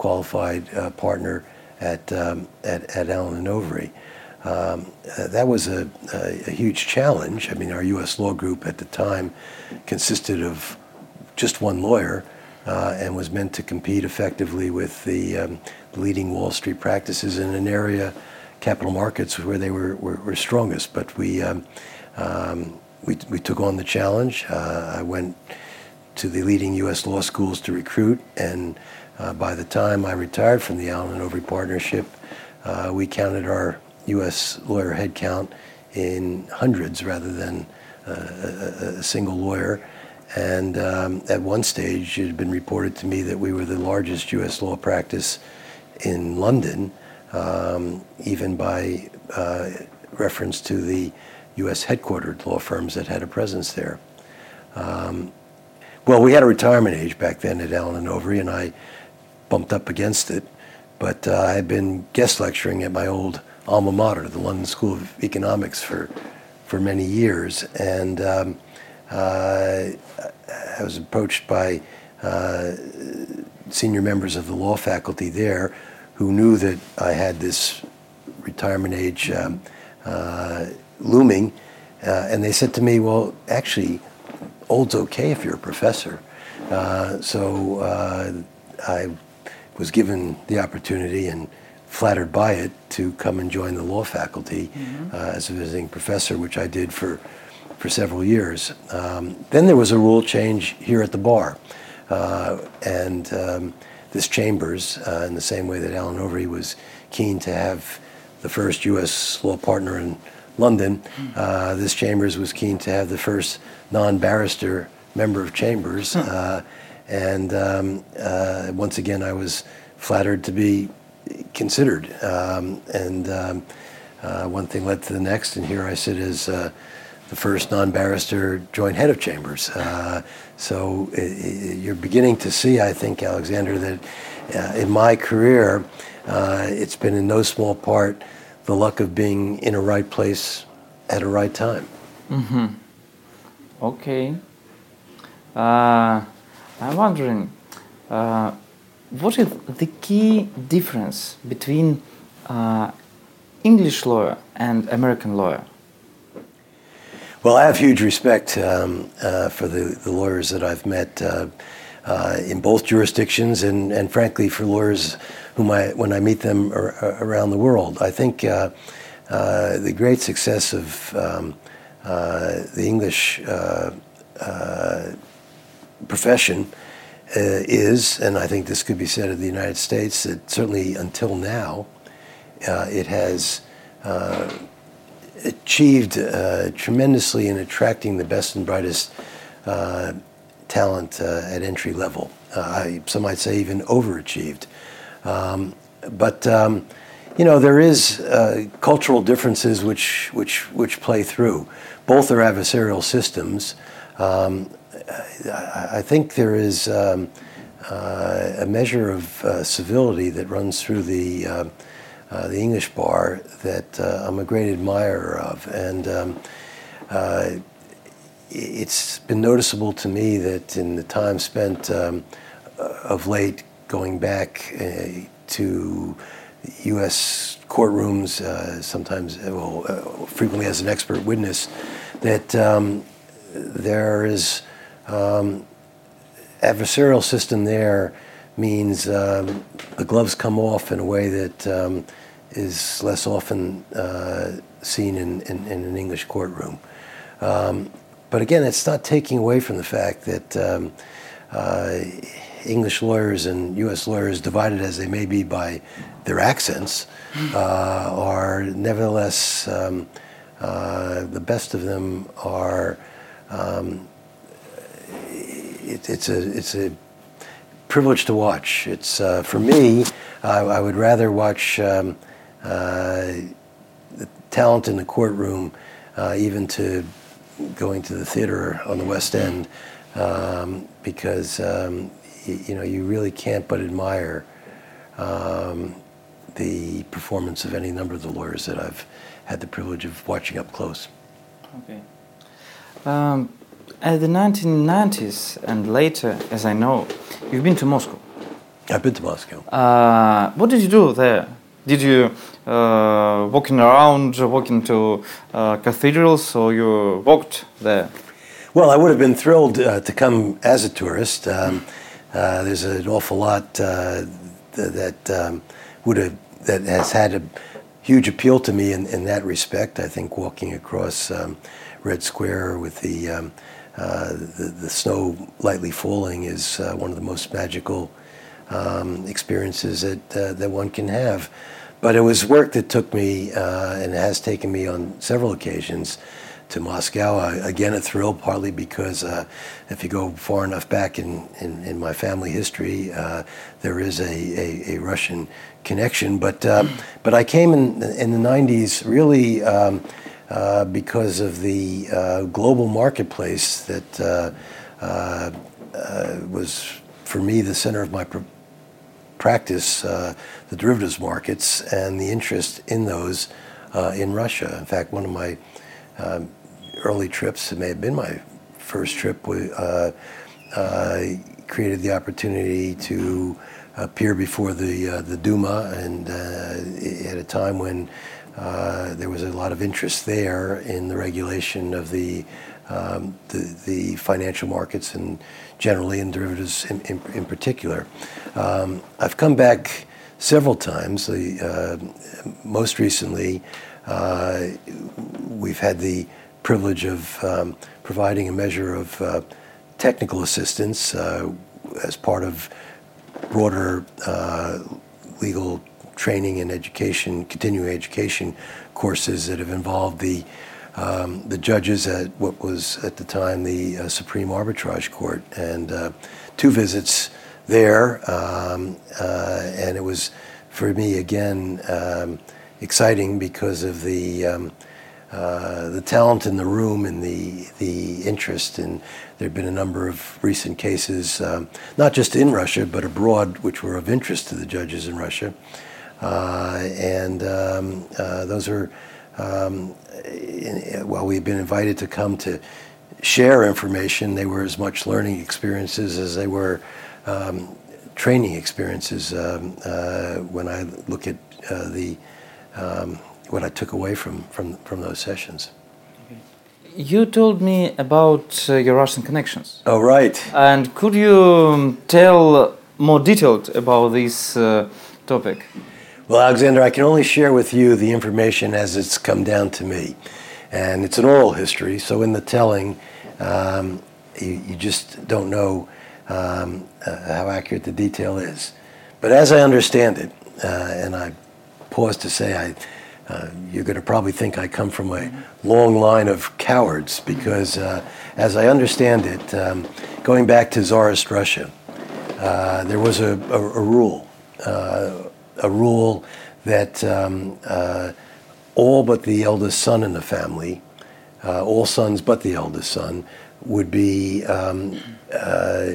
qualified uh, partner at, um, at at Allen and Overy. Um, uh, that was a, a, a huge challenge. I mean, our U S law group at the time consisted of just one lawyer uh, and was meant to compete effectively with the um, leading Wall Street practices in an area, capital markets, where they were, were, were strongest. But we, um, um, we we took on the challenge. Uh, I went to the leading U S law schools to recruit, and uh, by the time I retired from the Allen and Overy partnership, uh, we counted our U S lawyer headcount in hundreds rather than uh, a, a single lawyer. And um, at one stage, it had been reported to me that we were the largest U S law practice in London, um, even by uh, reference to the U S headquartered law firms that had a presence there. Um, well, we had a retirement age back then at Allen and Overy, and I bumped up against it. But uh, I had been guest lecturing at my old alma mater, the London School of Economics, for for many years, and um, uh, I was approached by uh, senior members of the law faculty there who knew that I had this retirement age um, uh, looming, uh, and they said to me, well, actually, old's okay if you're a professor. Uh, so uh, I was given the opportunity and flattered by it to come and join the law faculty mm-hmm. uh, as a visiting professor, which I did for for several years. Um, then there was a rule change here at the bar, uh, and um, this Chambers, uh, in the same way that Allen Overy was keen to have the first U S law partner in London, mm-hmm. uh, this Chambers was keen to have the first non-barrister member of Chambers, huh. uh, and um, uh, once again I was flattered to be considered, um, and um, uh, one thing led to the next, and here I sit as uh, the first non-barrister joint head of Chambers. Uh, so it, it, you're beginning to see, I think, Alexander, that uh, in my career, uh, it's been in no small part the luck of being in a right place at a right time. Mm-hmm. Okay. Uh, I'm wondering, uh, what is the key difference between uh, English lawyer and American lawyer? Well, I have huge respect um, uh, for the, the lawyers that I've met uh, uh, in both jurisdictions, and, and frankly for lawyers whom I, when I meet them ar- around the world. I think uh, uh, the great success of um, uh, the English uh, uh, profession Uh, is, and I think this could be said of the United States, that certainly until now, uh, it has uh, achieved uh, tremendously in attracting the best and brightest uh, talent uh, at entry level. Uh, I, some might say even overachieved. Um, but um, you know, there is uh, cultural differences which which which play through. Both are adversarial systems. Um, I, I think there is um, uh, a measure of uh, civility that runs through the uh, uh, the English bar that uh, I'm a great admirer of, and um, uh, it's been noticeable to me that in the time spent um, of late going back uh, to U S courtrooms, uh, sometimes, well, uh, frequently as an expert witness, that um, there is um, adversarial system there means um, the gloves come off in a way that um, is less often uh, seen in, in, in an English courtroom. Um, but again, it's not taking away from the fact that um, uh, English lawyers and U S lawyers, divided as they may be by their accents, uh, are nevertheless, um, uh, the best of them are, um, it, it's a it's a privilege to watch. It's, uh, for me, I, I would rather watch um, uh, the talent in the courtroom, uh, even to going to the theater on the West End, um, because um, y- you know you really can't but admire um, the performance of any number of the lawyers that I've had the privilege of watching up close. Okay. Um, at the nineteen nineties and later, as I know, you've been to Moscow. I've been to Moscow. Uh, what did you do there? Did you uh, walking around, walking to uh, cathedrals, or you walked there? Well, I would have been thrilled uh, to come as a tourist. Um, uh, there's an awful lot uh, th- that um, would have that has had a huge appeal to me in, in that respect. I think walking across um, Red Square with the, um, uh, the the snow lightly falling is uh, one of the most magical um, experiences that uh, that one can have. But it was work that took me, uh, and has taken me on several occasions to Moscow. Uh, again, a thrill, partly because uh, if you go far enough back in, in, in my family history, uh, there is a, a, a Russian connection. But uh, but I came in in the nineties really um, uh, because of the uh, global marketplace that uh, uh, uh, was, for me, the center of my pr- practice, uh, the derivatives markets, and the interest in those uh, in Russia. In fact, one of my um, early trips, it may have been my first trip, uh, uh, created the opportunity to appear before the uh, the Duma, and uh, at a time when uh, there was a lot of interest there in the regulation of the um, the, the financial markets and generally in derivatives in, in, in particular. Um, I've come back several times. The, uh, most recently, uh, we've had the privilege of um, providing a measure of uh, technical assistance uh, as part of broader uh, legal training and education, continuing education courses that have involved the um, the judges at what was at the time the uh, Supreme Arbitrage Court, and uh, two visits there, um, uh, and it was for me again um, exciting because of the um, uh, the talent in the room and the the interest. And there have been a number of recent cases, um, not just in Russia but abroad, which were of interest to the judges in Russia, uh, and um, uh, those are. Um, in, well, we've been invited to come to share information. They were as much learning experiences as they were um, training experiences. Um, uh, when I look at uh, the um, what I took away from from, from those sessions. You told me about uh, your Russian connections. Oh, right. And could you tell more detailed about this uh, topic? Well, Alexander, I can only share with you the information as it's come down to me. And it's an oral history, so in the telling, um, you, you just don't know um, uh, how accurate the detail is. But as I understand it, uh, and I pause to say, I, uh, you're going to probably think I come from a long line of cowards, because uh, as I understand it, um, going back to Tsarist Russia, uh, there was a, a, a rule, uh, a rule that um, uh, all but the eldest son in the family, uh, all sons but the eldest son, would be um, uh,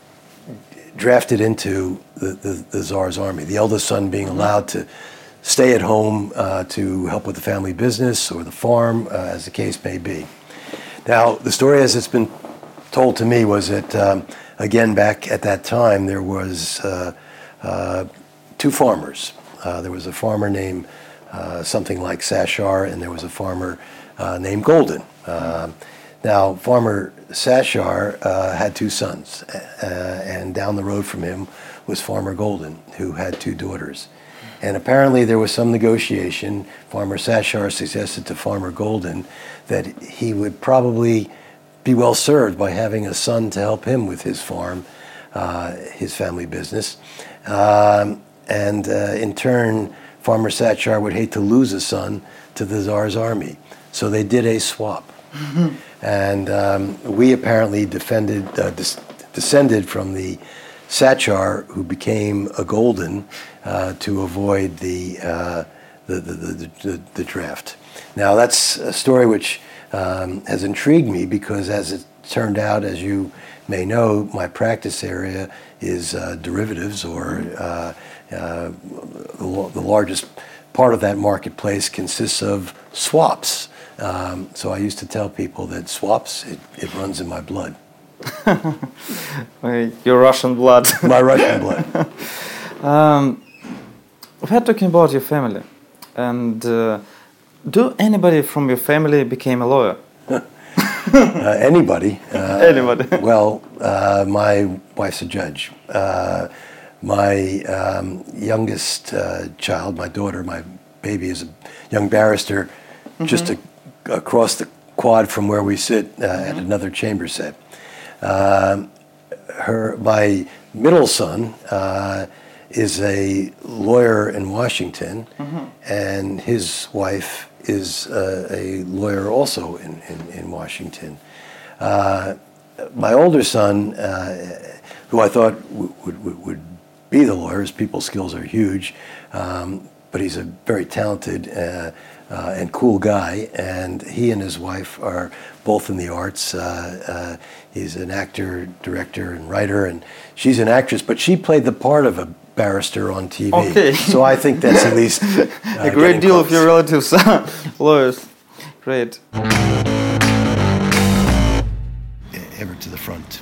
drafted into the, the, the Tsar's army. The eldest son being allowed to stay at home uh, to help with the family business or the farm, uh, as the case may be. Now, the story as it's been told to me was that, um, again, back at that time, there was uh, uh, two farmers. Uh, there was a farmer named uh, something like Sashar, and there was a farmer uh, named Golden. Uh, now, Farmer Sashar uh, had two sons, uh, and down the road from him was Farmer Golden, who had two daughters. And apparently there was some negotiation. Farmer Sashar suggested to Farmer Golden that he would probably be well served by having a son to help him with his farm, uh, his family business. Um, and uh, in turn, Farmer Sachar would hate to lose a son to the Tsar's army. So they did a swap. Mm-hmm. And um, we apparently defended, uh, dis- descended from the Sachar, who became a Golden, uh, to avoid the, uh, the, the, the, the, the draft. Now, that's a story which um, has intrigued me, because as it turned out, as you may know, my practice area is uh, derivatives, or uh, uh, the, the largest part of that marketplace consists of swaps. Um, so I used to tell people that swaps, it, it runs in my blood. Your Russian blood. My Russian blood. Um, we're talking about your family, and uh, do anybody from your family became a lawyer? uh, anybody. Uh, Anybody. Well, uh, my wife's a judge. Uh, my um, youngest uh, child, my daughter, my baby, is a young barrister, mm-hmm. just a, across the quad from where we sit uh, mm-hmm. at another chamber set. Uh, her, my middle son uh, is a lawyer in Washington, mm-hmm. and his wife is uh, a lawyer also in, in, in Washington. Uh, my older son, uh, who I thought w- would, would be the lawyer, his people skills are huge, um, but he's a very talented uh, uh, and cool guy, and he and his wife are both in the arts. Uh, uh, he's an actor, director, and writer, and she's an actress, but she played the part of a barrister on T V. Okay. So I think that's at least uh, a great deal close. of your relatives are lawyers. Great. Ever to the front.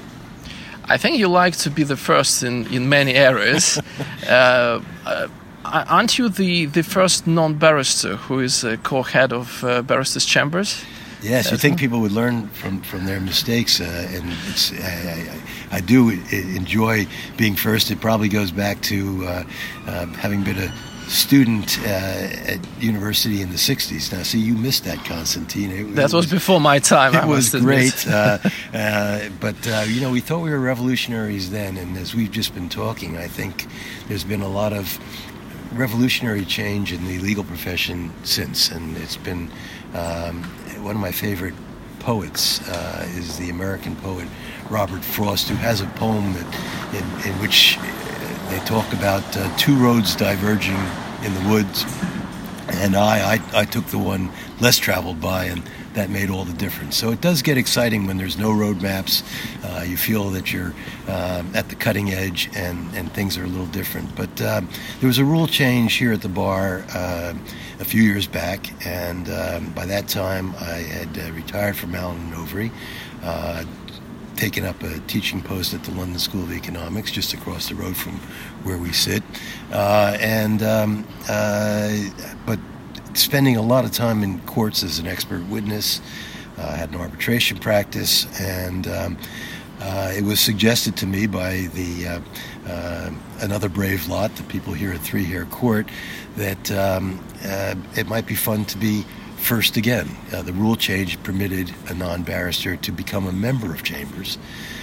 I think you like to be the first in, in many areas. uh, uh, aren't you the, the first non-barrister who is a co-head of uh, Barristers' Chambers? Yes, you think people would learn from, from their mistakes, uh, and it's, I, I, I do enjoy being first. It probably goes back to uh, uh, having been a student uh, at university in the sixties. Now, see, you missed that, Constantine. It, that it was, was before my time. It I was must great, uh, uh, but uh, you know, we thought we were revolutionaries then, and as we've just been talking, I think there's been a lot of revolutionary change in the legal profession since, and it's been um, one of my favorite poets uh, is the American poet Robert Frost, who has a poem that in, in which they talk about uh, two roads diverging in the woods, and I, I I took the one less traveled by, and that made all the difference. So it does get exciting when there's no road maps. Uh, you feel that you're uh, at the cutting edge, and, and things are a little different. But uh, there was a rule change here at the bar uh, a few years back, and um, by that time I had uh, retired from Allen and Overy, uh, taken up a teaching post at the London School of Economics, just across the road from where we sit, uh, and um, uh, but spending a lot of time in courts as an expert witness. I uh, had an arbitration practice, and um, uh, it was suggested to me by the uh, uh, another brave lot, the people here at Three Hair Court, that um, uh, it might be fun to be first again. Uh, the rule change permitted a non-barrister to become a member of Chambers,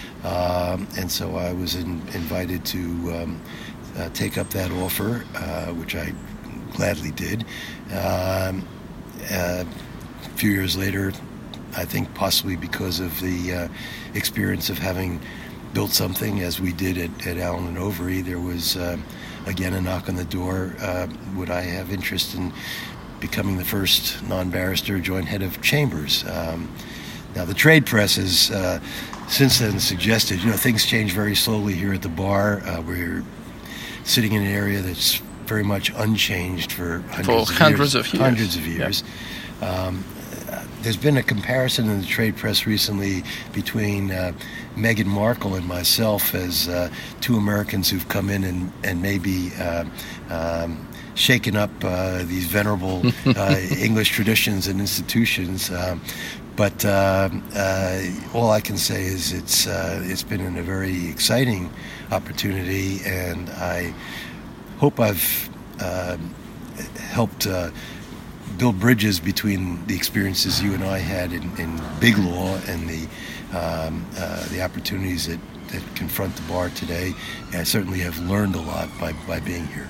um, and so I was in, invited to um, uh, take up that offer, uh, which I gladly did. Um, uh, a few years later, I think possibly because of the uh, experience of having built something as we did at, at Allen and Overy, there was uh, again a knock on the door. Uh, would I have interest in becoming the first non-barrister joint head of Chambers? Um, now the trade press has uh, since then suggested, you know, things change very slowly here at the bar. Uh, we're sitting in an area that's very much unchanged for hundreds, for of, hundreds years, of years. Hundreds of years. Yeah. Um, there's been a comparison in the trade press recently between uh, Meghan Markle and myself as uh, two Americans who've come in and, and maybe uh, um, shaken up uh, these venerable uh, English traditions and institutions. Um, but uh, uh, all I can say is it's uh, it's been a very exciting opportunity, and I hope I've uh, helped uh, build bridges between the experiences you and I had in, in big law and the um, uh, the opportunities that, that confront the bar today. And I certainly have learned a lot by, by being here.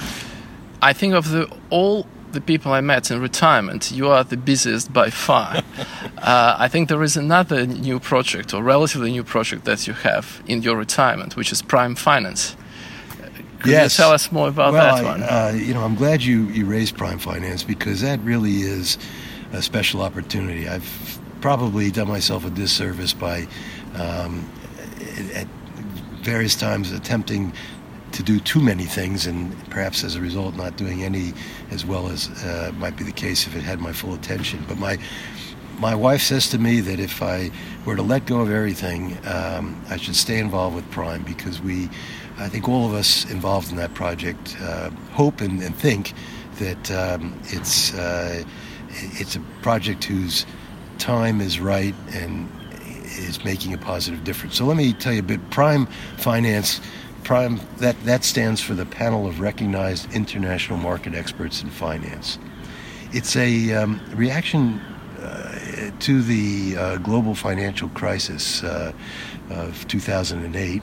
I think of the all the people I met in retirement, you are the busiest by far. uh, I think there is another new project, or relatively new project, that you have in your retirement, which is Prime Finance. Could yes. you tell us more about well, that one? I, uh, you know, I'm glad you, you raised Prime Finance, because that really is a special opportunity. I've probably done myself a disservice by, um, at various times, attempting to do too many things, and perhaps as a result not doing any as well as uh, might be the case if it had my full attention. But my my wife says to me that if I were to let go of everything, um, I should stay involved with Prime, because we I think all of us involved in that project uh, hope and, and think that um, it's uh, it's a project whose time is right and is making a positive difference. So let me tell you a bit. Prime Finance, Prime that that stands for the Panel of Recognized International Market Experts in Finance. It's a um, reaction uh, to the uh, global financial crisis uh, of two thousand eight.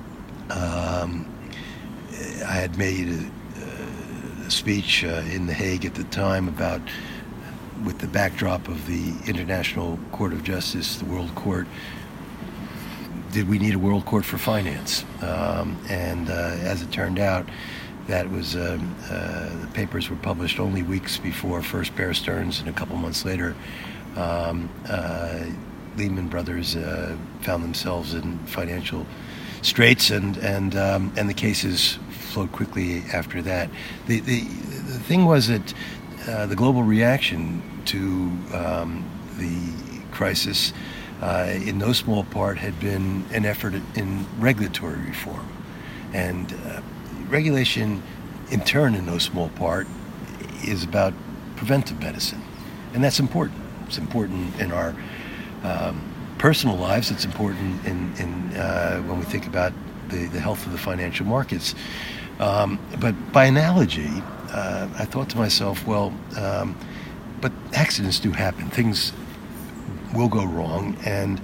Um, I had made a, a speech uh, in The Hague at the time about, with the backdrop of the International Court of Justice, the World Court, did we need a World Court for Finance? Um, and uh, as it turned out, that was um, uh, the papers were published only weeks before first Bear Stearns, and a couple months later, um, uh, Lehman Brothers uh, found themselves in financial straits, and and um, and the cases flowed quickly after that. The the, the thing was that uh, the global reaction to um, the crisis, uh, in no small part, had been an effort in regulatory reform, and uh, regulation, in turn, in no small part, is about preventive medicine, and that's important. It's important in our um, personal lives. It's important in, in uh, when we think about the, the health of the financial markets. Um, but by analogy, uh, I thought to myself, well, um, but accidents do happen. Things will go wrong, and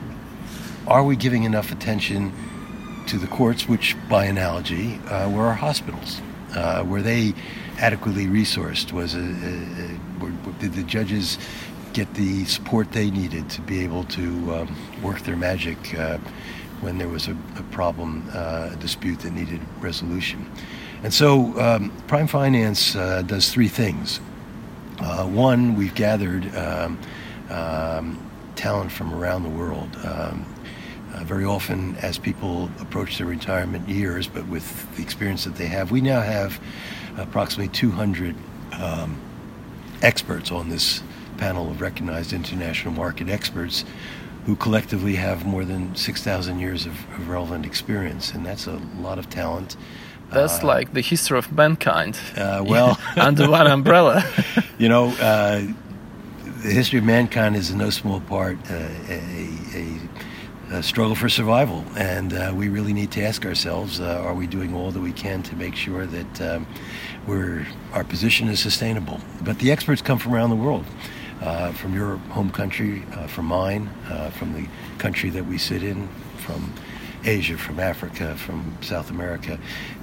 are we giving enough attention to the courts, which, by analogy, uh, were our hospitals? Uh, were they adequately resourced? Was a, a, a, were, did the judges get the support they needed to be able to um, work their magic uh, when there was a, a problem, uh, a dispute that needed resolution? And so um, Prime Finance uh, does three things. Uh, one, we've gathered um, um, talent from around the world. Um, uh, very often, as people approach their retirement years, but with the experience that they have, we now have approximately two hundred um, experts on this panel of recognized international market experts who collectively have more than six thousand years of, of relevant experience, and that's a lot of talent. That's uh, like the history of mankind. Uh, well, under one umbrella. You know, uh, the history of mankind is in no small part uh, a, a, a struggle for survival, and uh, we really need to ask ourselves: uh, Are we doing all that we can to make sure that um, we're our position is sustainable? But the experts come from around the world. Uh, from your home country, uh, from mine, uh, from the country that we sit in, from Asia, from Africa, from South America.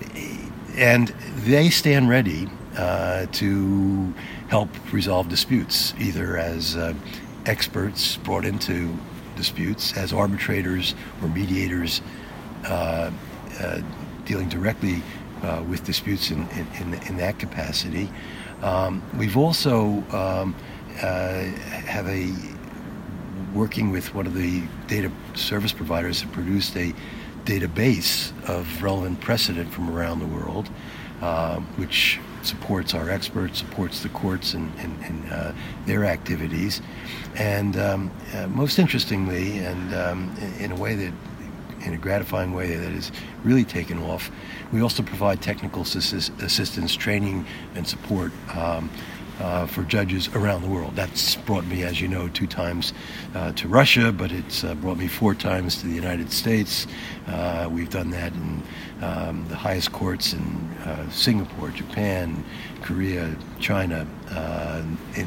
And they stand ready uh, to help resolve disputes, either as uh, experts brought into disputes, as arbitrators or mediators uh, uh, dealing directly uh, with disputes in, in, in that capacity. Um, we've also um, Uh, have a working with one of the data service providers that produced a database of relevant precedent from around the world, uh, which supports our experts, supports the courts and, and, and uh, their activities. And um, uh, most interestingly, and um, in, in a way that, in a gratifying way that has really taken off, we also provide technical assist- assistance, training, and support um, Uh, for judges around the world. That's brought me, as you know, two times uh, to Russia, but it's uh, brought me four times to the United States. Uh, we've done that in um, the highest courts in uh, Singapore, Japan, Korea, China. Uh, in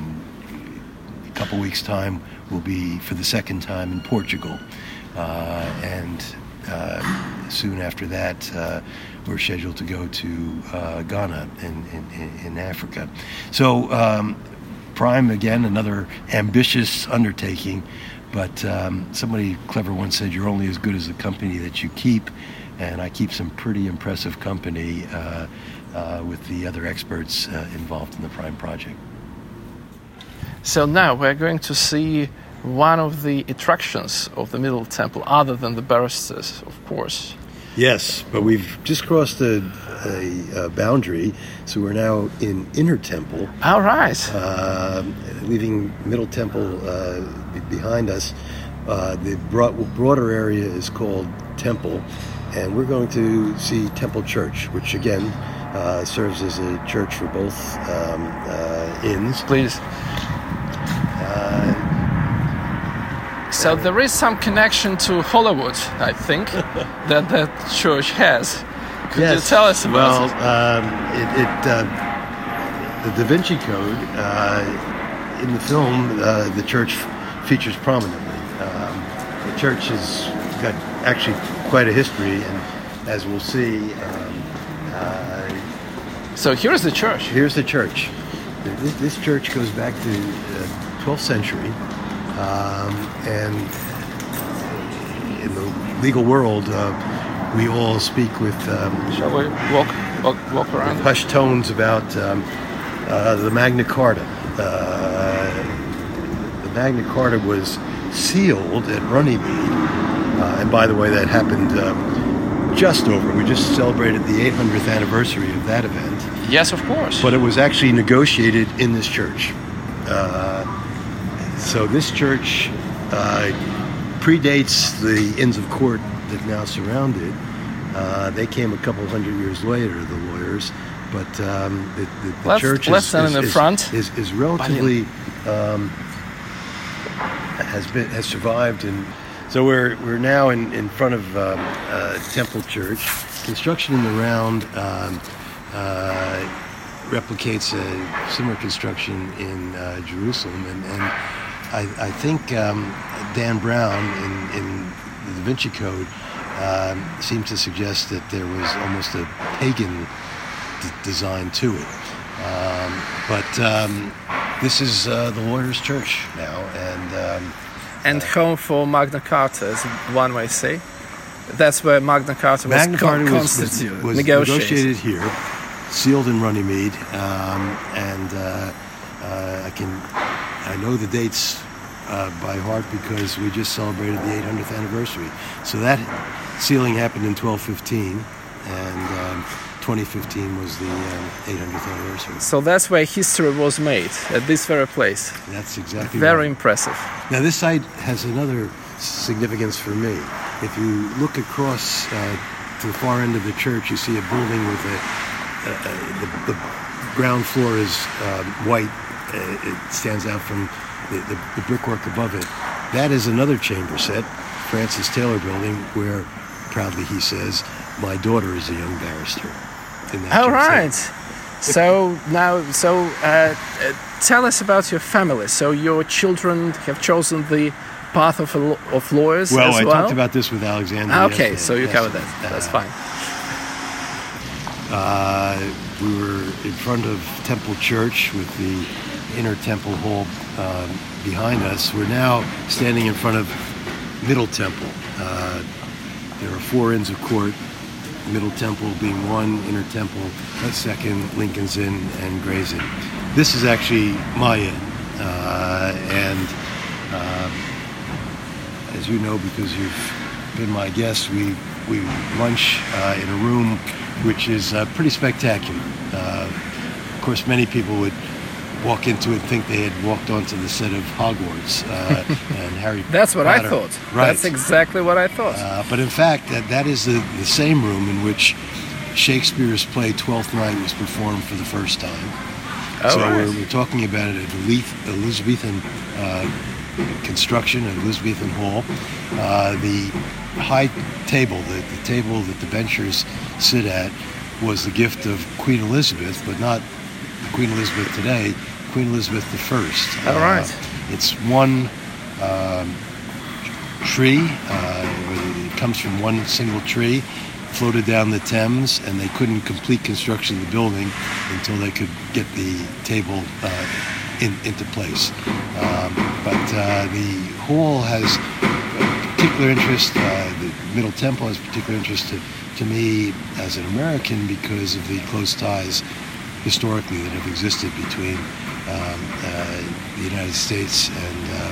a couple weeks' time, we'll be, for the second time, in Portugal. Uh, and uh, soon after that, uh, we're scheduled to go to uh, Ghana in, in, in Africa. So um, Prime, again, another ambitious undertaking, but um, somebody clever once said, you're only as good as the company that you keep, and I keep some pretty impressive company uh, uh, with the other experts uh, involved in the Prime project. So now we're going to see one of the attractions of the Middle Temple, other than the barristers, of course. Yes, but we've just crossed a, a, a boundary, so we're now in Inner Temple. All right. Uh, leaving Middle Temple uh, behind us. Uh, the broad, broader area is called Temple, and we're going to see Temple Church, which again uh, serves as a church for both um, uh, inns. Please. Uh, So there is some connection to Hollywood, I think, that that church has. Could yes. you tell us about well, it? Well, um, it, it uh, the Da Vinci Code uh, in the film, uh, the church f- features prominently. Um, the church has got actually quite a history, and as we'll see. Um, uh, so here's the church. Here's the church. This, this church goes back to the twelfth century. Um, and in the legal world, uh, we all speak with um, Shall we walk walk, walk around? hushed tones about um, uh, the Magna Carta. Uh, the Magna Carta was sealed at Runnymede, uh, and by the way, that happened um, just over. We just celebrated the eight hundredth anniversary of that event. Yes, of course. But it was actually negotiated in this church. Uh, So this church uh, predates the Inns of Court that now surround it. Uh, they came a couple hundred years later, the lawyers, but um, the, the, the let's, church let's is, stand is, in the is, front. is, is relatively um, has been has survived, and so we're we're now in, in front of um, uh, Temple Church. Construction in the round um, uh, replicates a similar construction in uh, Jerusalem, and. and I, I think um, Dan Brown in, in the Da Vinci Code um, seems to suggest that there was almost a pagan d- design to it. Um, but um, this is uh, the lawyer's church now, and um, and uh, home for Magna Carta, as one may say. That's where Magna Carta was Magna Carta con- was, constituted, was, was negotiated. negotiated here, sealed in Runnymede, um, and uh, uh, I can. I know the dates uh, by heart because we just celebrated the eight hundredth anniversary. So that sealing happened in twelve fifteen, and um, twenty fifteen was the um, eight hundredth anniversary. So that's where history was made, at this very place. That's exactly Very right. impressive. Now this site has another significance for me. If you look across uh, to the far end of the church, you see a building with a, a, a the, the ground floor is um, white. Uh, it stands out from the, the, the brickwork above it. That is another chamber set, Francis Taylor Building, where proudly he says, "My daughter is a young barrister." In that All right. set. So now, so uh, uh, tell us about your family. So your children have chosen the path of a, of lawyers well, as I well. talked about this with Alexander. Okay, yesterday. so you yes. covered that. That's Uh, fine. Uh, we were in front of Temple Church with the inner temple hall um, behind us. We're now standing in front of Middle Temple. Uh, there are four Inns of Court, Middle Temple being one, Inner Temple a second, Lincoln's Inn, and Gray's Inn. This is actually my inn, uh, and um, as you know, because you've been my guest, we we lunch uh, in a room which is uh, pretty spectacular. Uh, of course, many people would walk into it and think they had walked onto the set of Hogwarts uh, and Harry That's what Potter. I thought. Right. That's exactly what I thought. Uh, but in fact, that, that is the, the same room in which Shakespeare's play Twelfth Night was performed for the first time. Oh, so right. we're, we're talking about an Elizabethan uh, construction, an Elizabethan hall. Uh, the high table, the, the table that the benchers sit at, was the gift of Queen Elizabeth, but not Queen Elizabeth today, Queen Elizabeth the First. All right. Uh, it's one um, tree, uh, it comes from one single tree, floated down the Thames, and they couldn't complete construction of the building until they could get the table uh, in, into place. Um, but uh, the hall has particular interest, uh, the Middle Temple has particular interest to, to me as an American because of the close ties historically that have existed between um, uh, the United States and uh,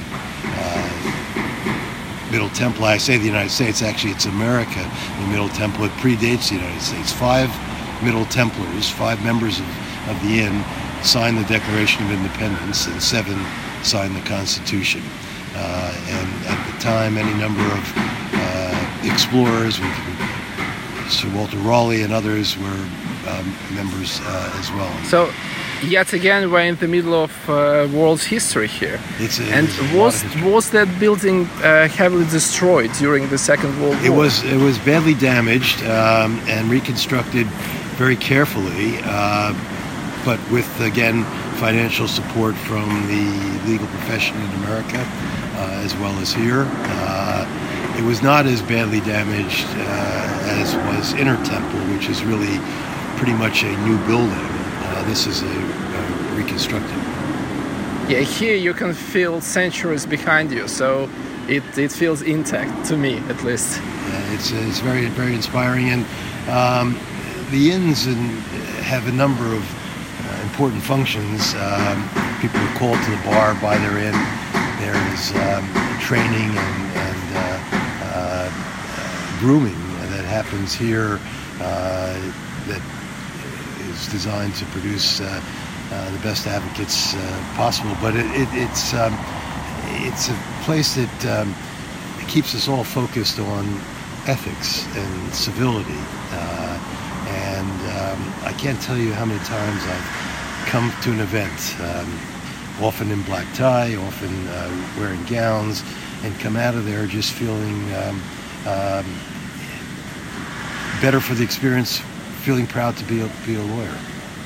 uh, Middle Temple. I say the United States, actually it's America. The Middle Temple, it predates the United States. Five Middle Templars, five members of, of the Inn, signed the Declaration of Independence, and seven signed the Constitution. Uh, and at the time, any number of uh, explorers with Sir Walter Raleigh and others were um, members uh, as well. So, yet again, we're in the middle of uh, world's history here. It's a, and it's a was lot of history. was that building uh, heavily destroyed during the Second World War? It was it was badly damaged um, and reconstructed very carefully, uh, but with again financial support from the legal profession in America uh, as well as here. Uh, it was not as badly damaged uh, as was Inner Temple, which is really pretty much a new building. Uh, this is a, a reconstructed. Yeah, here you can feel centuries behind you, so it, it feels intact to me, at least. Uh, it's it's very very inspiring, and um, the inns and have a number of uh, important functions. Um, people are called to the bar by their inn. There is um, training and, and uh, uh, grooming that happens here uh, that is designed to produce uh, uh, the best advocates uh, possible. But it, it, it's um, it's a place that um, keeps us all focused on ethics and civility. Uh, and um, I can't tell you how many times I've come to an event, um, often in black tie, often uh, wearing gowns, and come out of there just feeling um, um, better for the experience, feeling proud to be a, be a lawyer.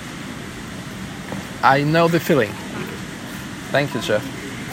I know the feeling. Thank you, Jeff.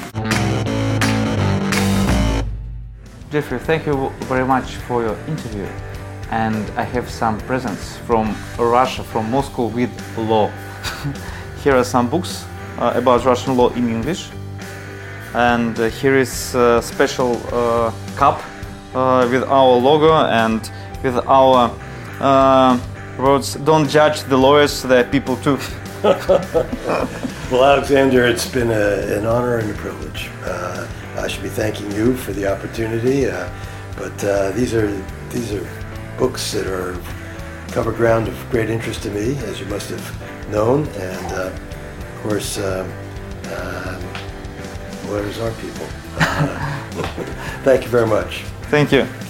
Jeffrey, thank you very much for your interview. And I have some presents from Russia, from Moscow with law. Here are some books uh, about Russian law in English. And uh, here is a special uh, cup uh, with our logo and with our uh, words, don't judge the lawyers, they're people too. Well, Alexander, it's been a, an honor and a privilege. Uh, I should be thanking you for the opportunity, uh, but uh, these are these are books that are cover ground of great interest to me, as you must have known, and uh, of course, uh, uh, lawyers are people. Uh, thank you very much. Thank you.